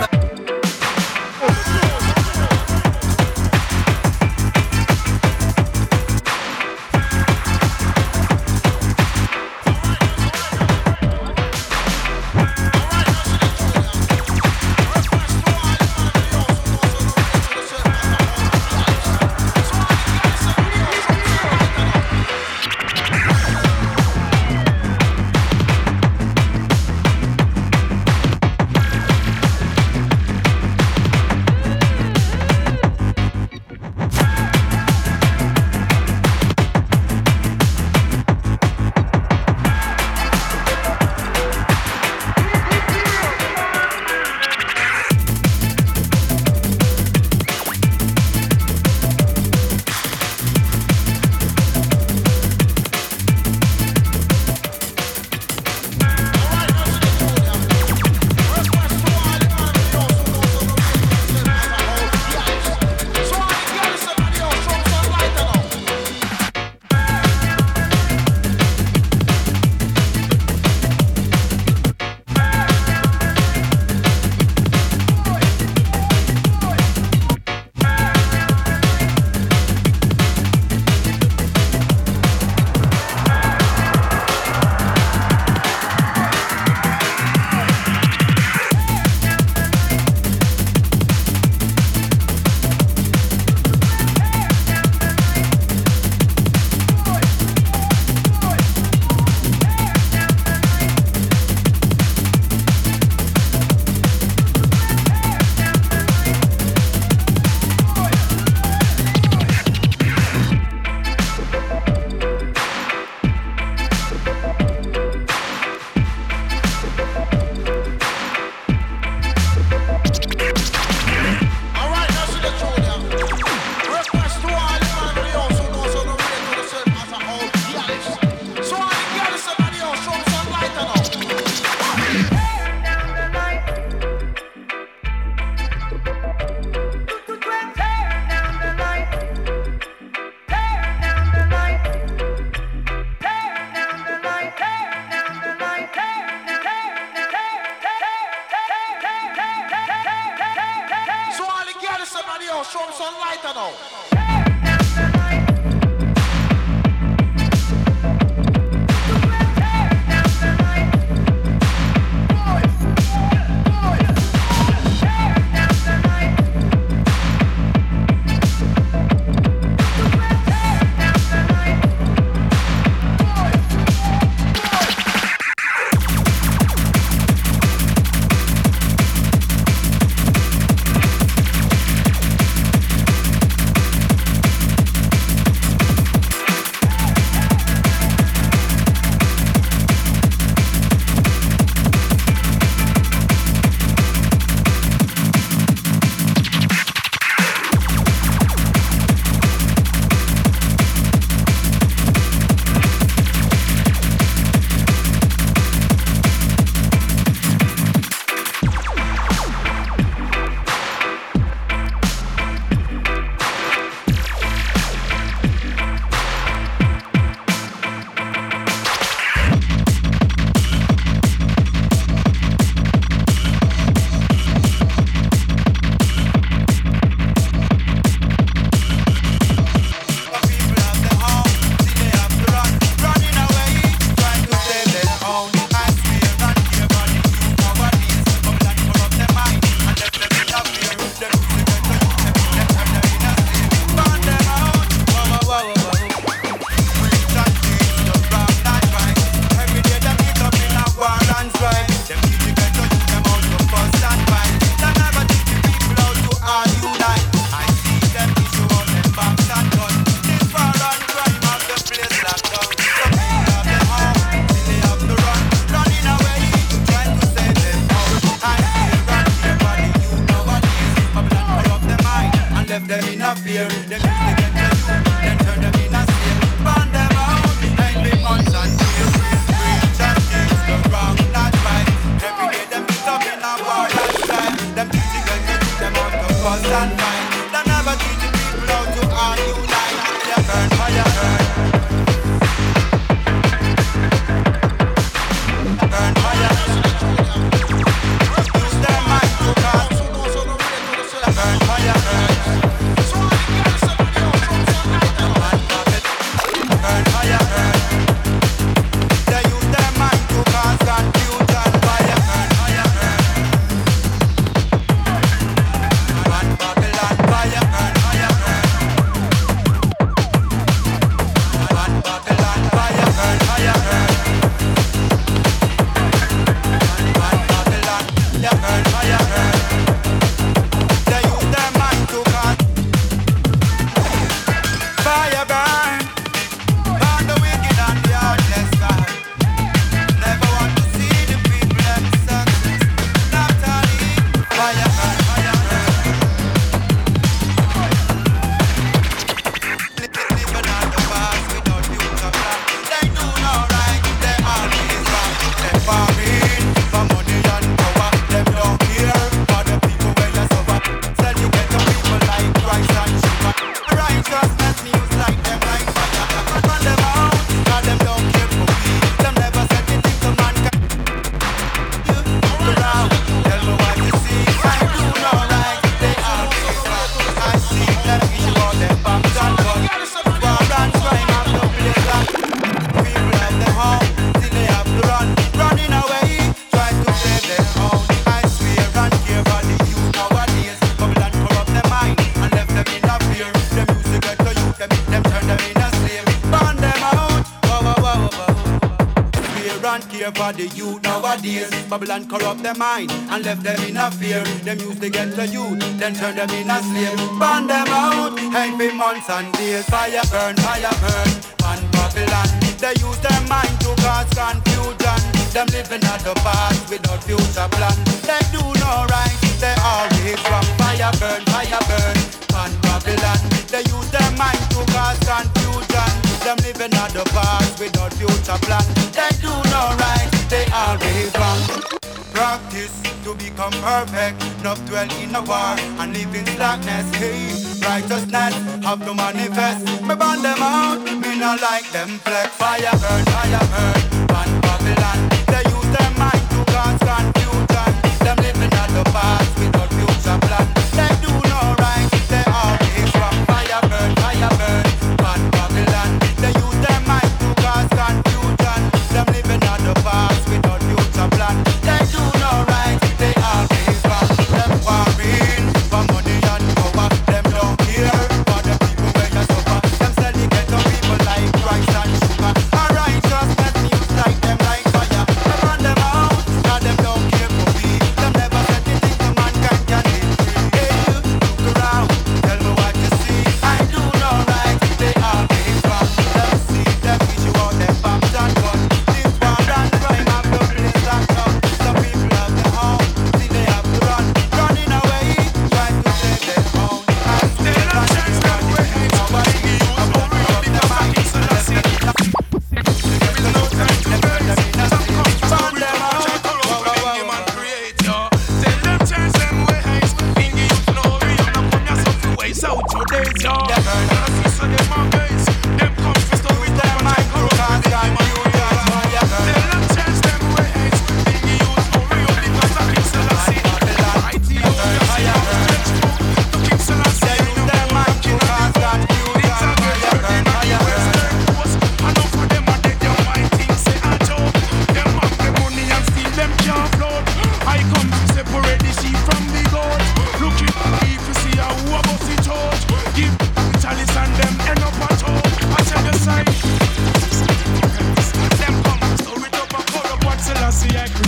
sunlight now. For the youth nowadays, Babylon corrupt their mind and left them in a fear. Them used to get the youth, then turn them in a slave. Burn them out, every months and days. Fire burn, fire burn, man Babylon. They use their mind to cause confusion. Them living at the past without future plan. They do no right, they always wrong. Fire burn, fire burn, man Babylon. They use their mind to cause confusion. Them living at the past without future plan. They do no right, they always wrong. Practice to become perfect, not dwell in a war and live in darkness. Hey, righteousness have to manifest. Me burn them out, me not like them flex. Fire burn, fire burn, man Babylon. They use their mind to cause confusion. Them living at the past without future plan. They do no right, they always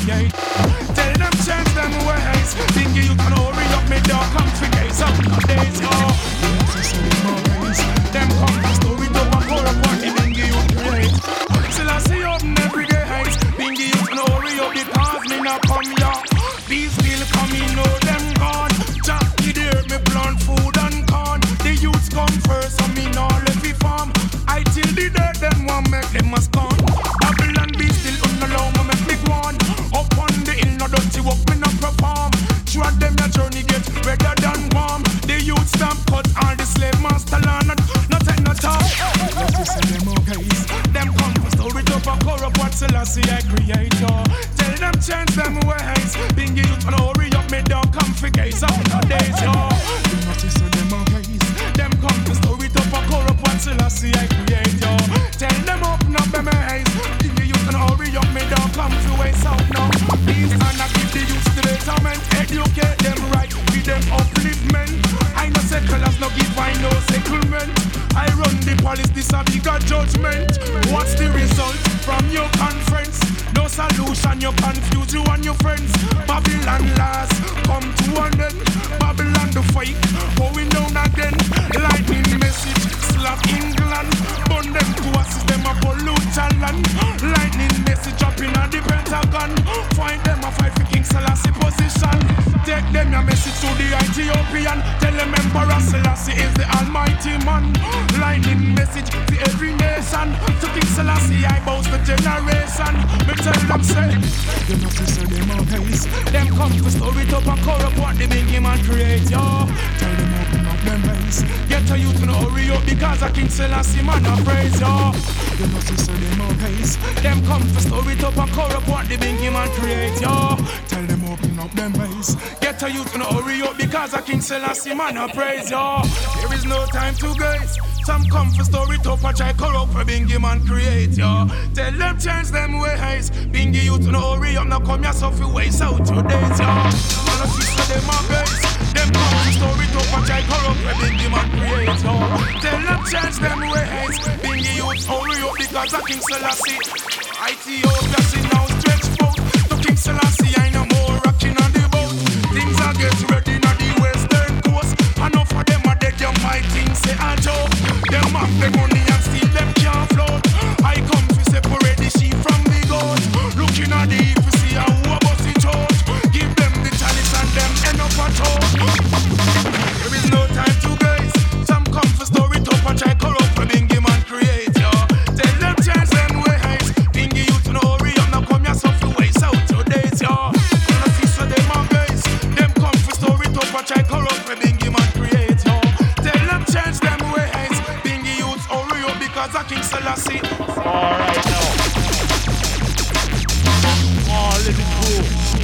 create. Tell them change them ways. Think you can hurry up me dog come figure some days, oh. Them come to story to a core of what the bingy you create. Still I see up in every day heights. Bingy you can hurry up because me not come here. These still coming, know them gone. Jackie there, me plant food and corn. The youths come first, so me not let me farm. I till the day them want make them must come. Babylon be still unallow me make me go on. Up on the hill, no dirty work me not perform. Through them your journey get redder than warm. The youth stamp cut all the slave master land. Not take no talk. Them guys, them come for story to a corrupt what Selassie I create. Tell them change them ways. Bingy youth and hurry up me down come figure some days. Yo, you notice them guys, them come for story to a corrupt what Selassie I create. Yo, tell them open up them eyes. Bingy youth and hurry up me down come to waste out now. These are not give the youth the betterment. Educate them right, with them upliftment. I no settlers, no give I no settlement. I run the police, this a bigger judgment. What's the result from your conference? No solution, you confuse you and your friends. Babylon laws come to an end. Babylon the fight, going down again. Lightning message, slap England. Burn them to a system of pollute land. Lightning message up in the Pentagon. Find them a fight for King Selassie position. Take them your message to the Ethiopian. Tell them Emperor Selassie is the almighty man. Lightning message to every nation. To King Selassie I boast the generation. Me tell them say, you know to say them all guys. Them come to story to and corrupt what the big man create, yo. Tell them open up them eyes. Get a youth to hurry up because a King Selassie man a praise, yo. You know to say them all guys. Them come to story to and corrupt what the big man create, yo. Tell them open up them eyes. Get a youth to hurry up because a King Selassie man a praise, yo. There is no time to guys. Some come for story top a try corrupt for Bingy man create, yo. Tell them change them ways. Bingy youth no hurry up, now come yourself you waste out your days, yo. And a sister them a base. Them come for story top a try corrupt for Bingy man create, yo. Tell them change them ways. Bingy youth hurry up because of King Selassie. Ethiopia see now stretch out. To King Selassie I no more rocking on the boat. Things are get ready on the western coast. Enough of them are dead, you might think say a joke. Them have the money and still them can't float. I come to separate the sheep from the goat. Looking at the if you see how a bossy church. Give them the chalice and them end up a talk. There is no time to guys. Some come for story top and try corrupt for Bingy man create, yo. Tell them change them ways. Bingy youth no hurry up, now come yourself to waste out your days, yo. And I see so them are guys. Them come for story top and try corrupt for Bingy man create, yo. Tell them change them ways. Bingy youth hurry up because of King Selassie. Alright now. Oh, let it go.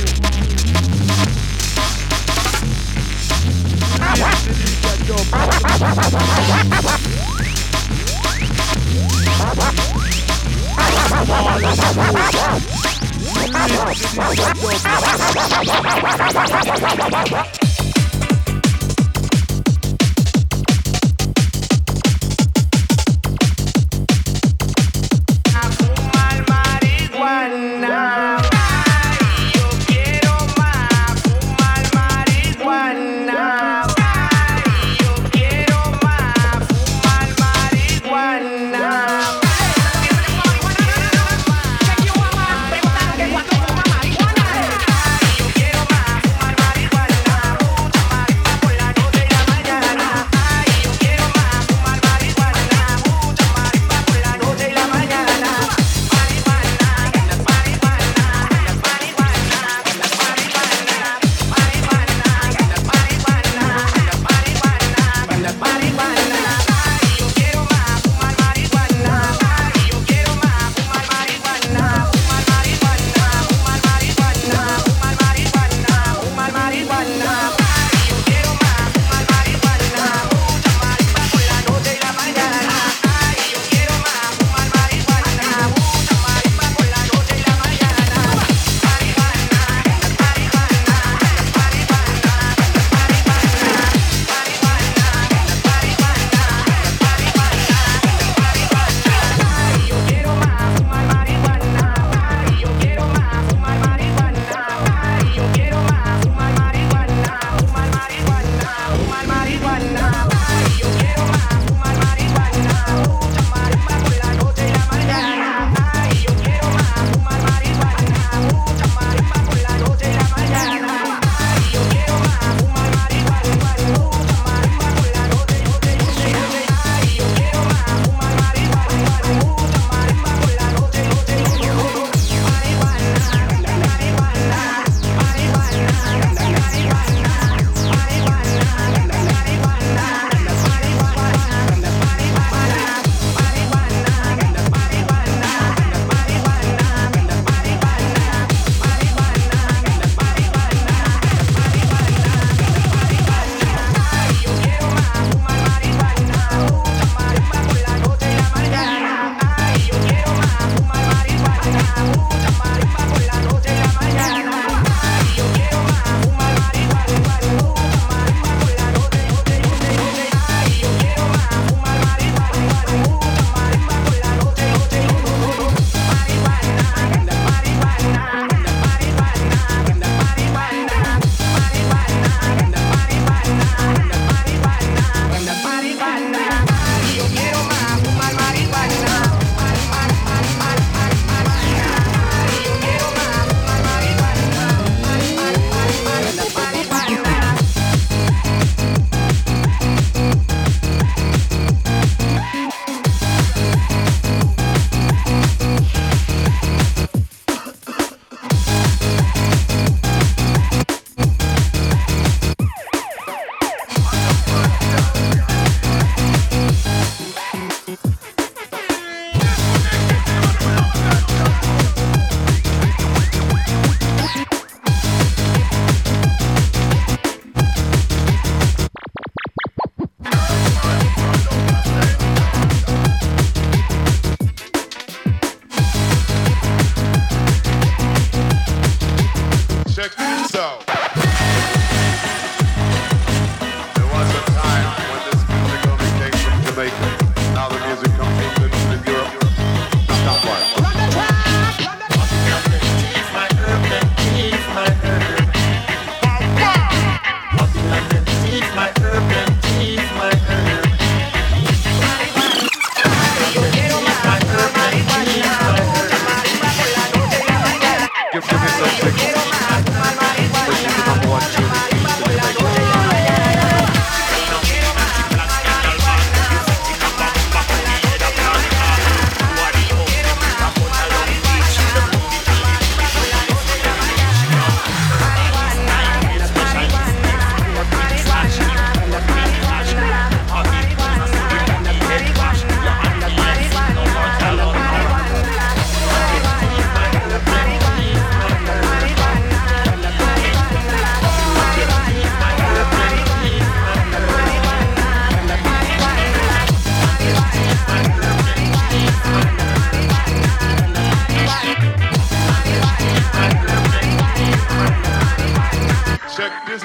Fumar marihuana. Ay, yo quiero más. Fumar marihuana. Ay, yo quiero más. Fumar marihuana. Yo quiero más fumar marihuana.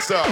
yourself.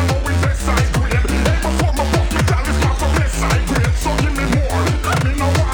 Know why?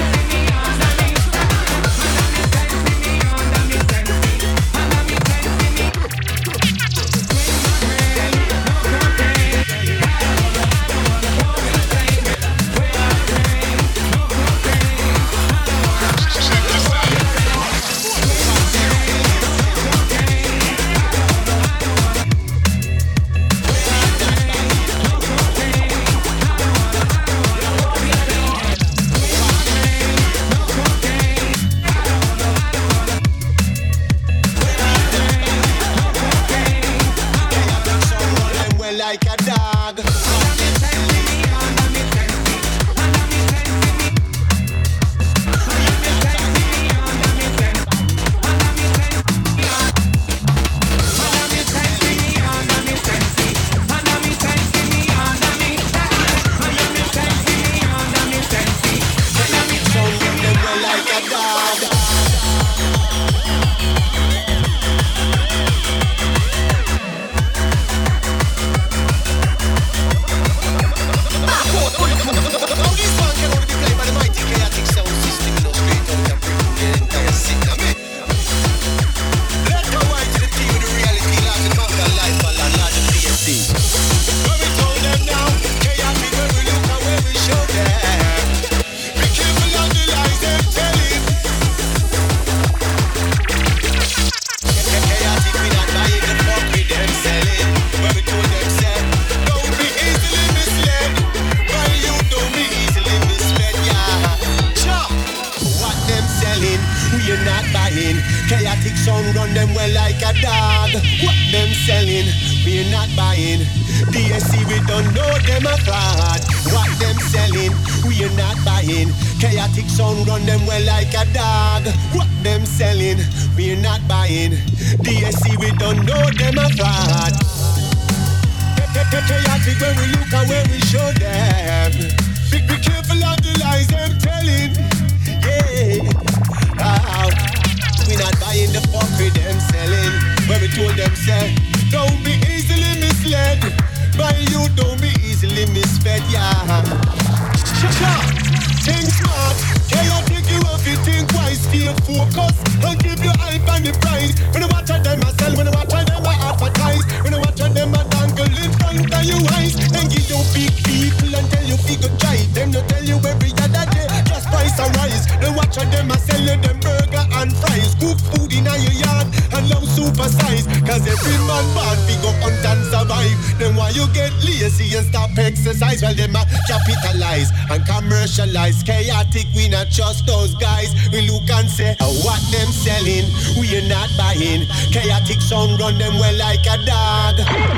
Chaotic, we not trust those guys. We look and say, oh, what them selling, we are not buying. Chaotic sound run them well like a dog.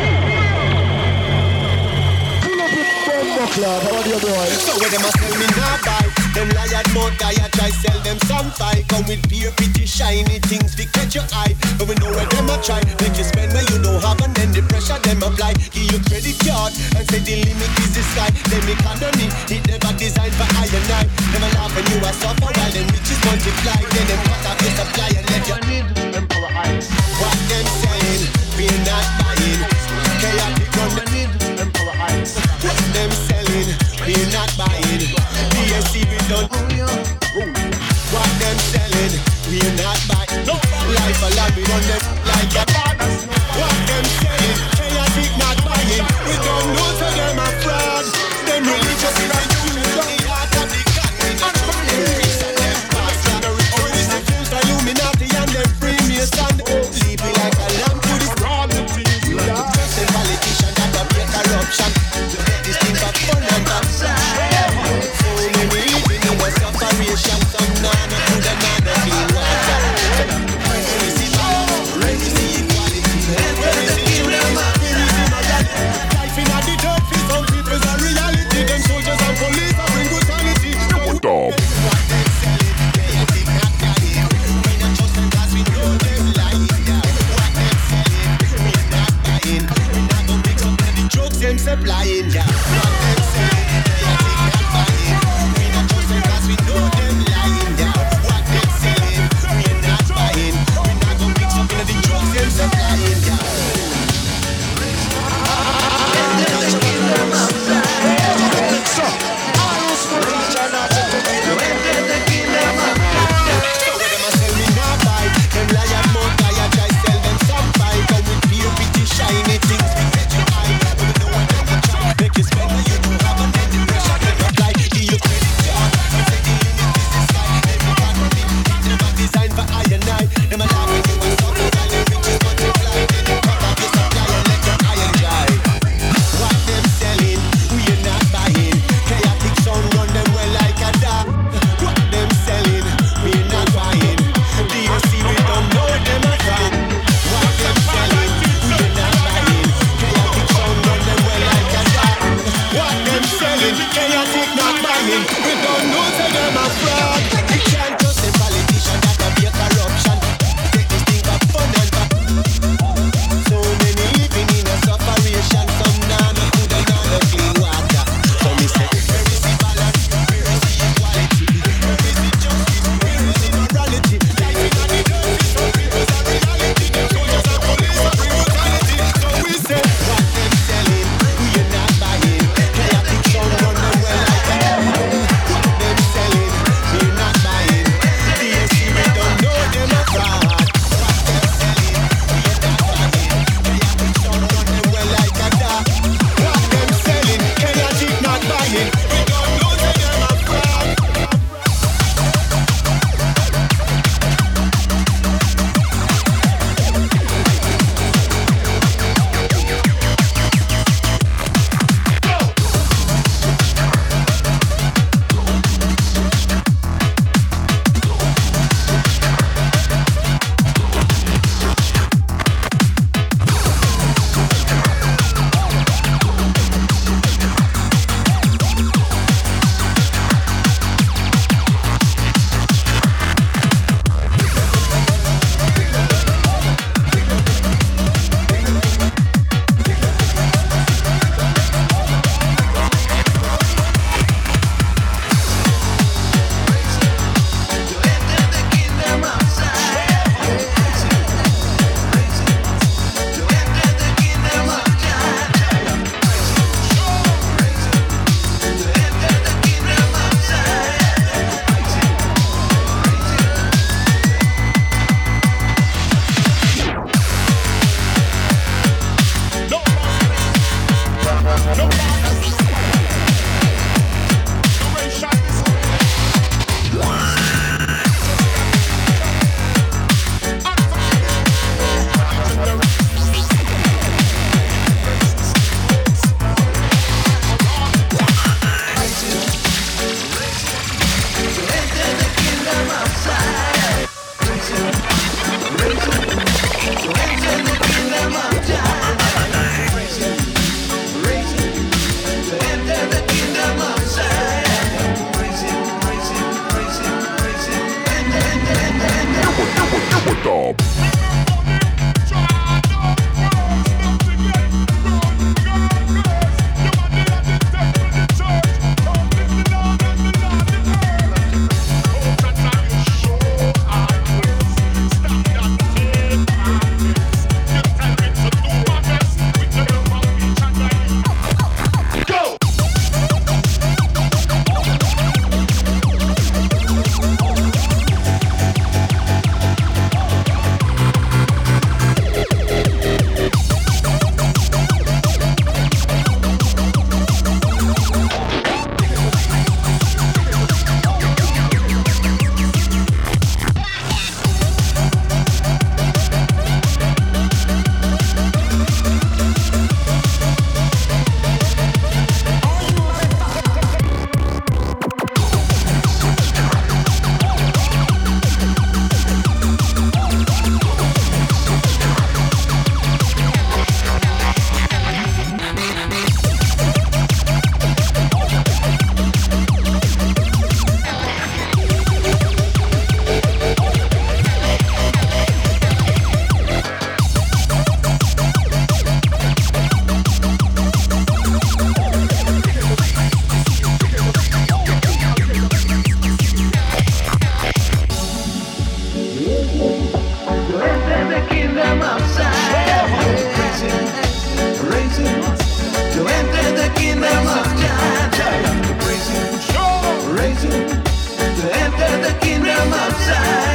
So when them a sell me not buy, them liar mouth guy a try sell them some fight. Come with pure pretty shiny things to catch your eye. But we know where them a try, make you spend where you don't have, and then the pressure them apply. Give you credit card and say the limit is the sky. Them economy, it never designed for I and I. Never laugh when you are suffer while them riches multiply. Then them cut off your supply and let you need empower eyes. What them saying, we're not buying. Chaotic run the need empower eyes. What them selling, we're not buying. D S C we done. What them selling, we're not buying. Life a lot, we run them like a partners. What them selling, chaotic not buying. We don't know to them a fraud. Them religious in the youth, the heart of the God. We not from the priests and them pastors. Always the dub. To enter the kingdom of Zion.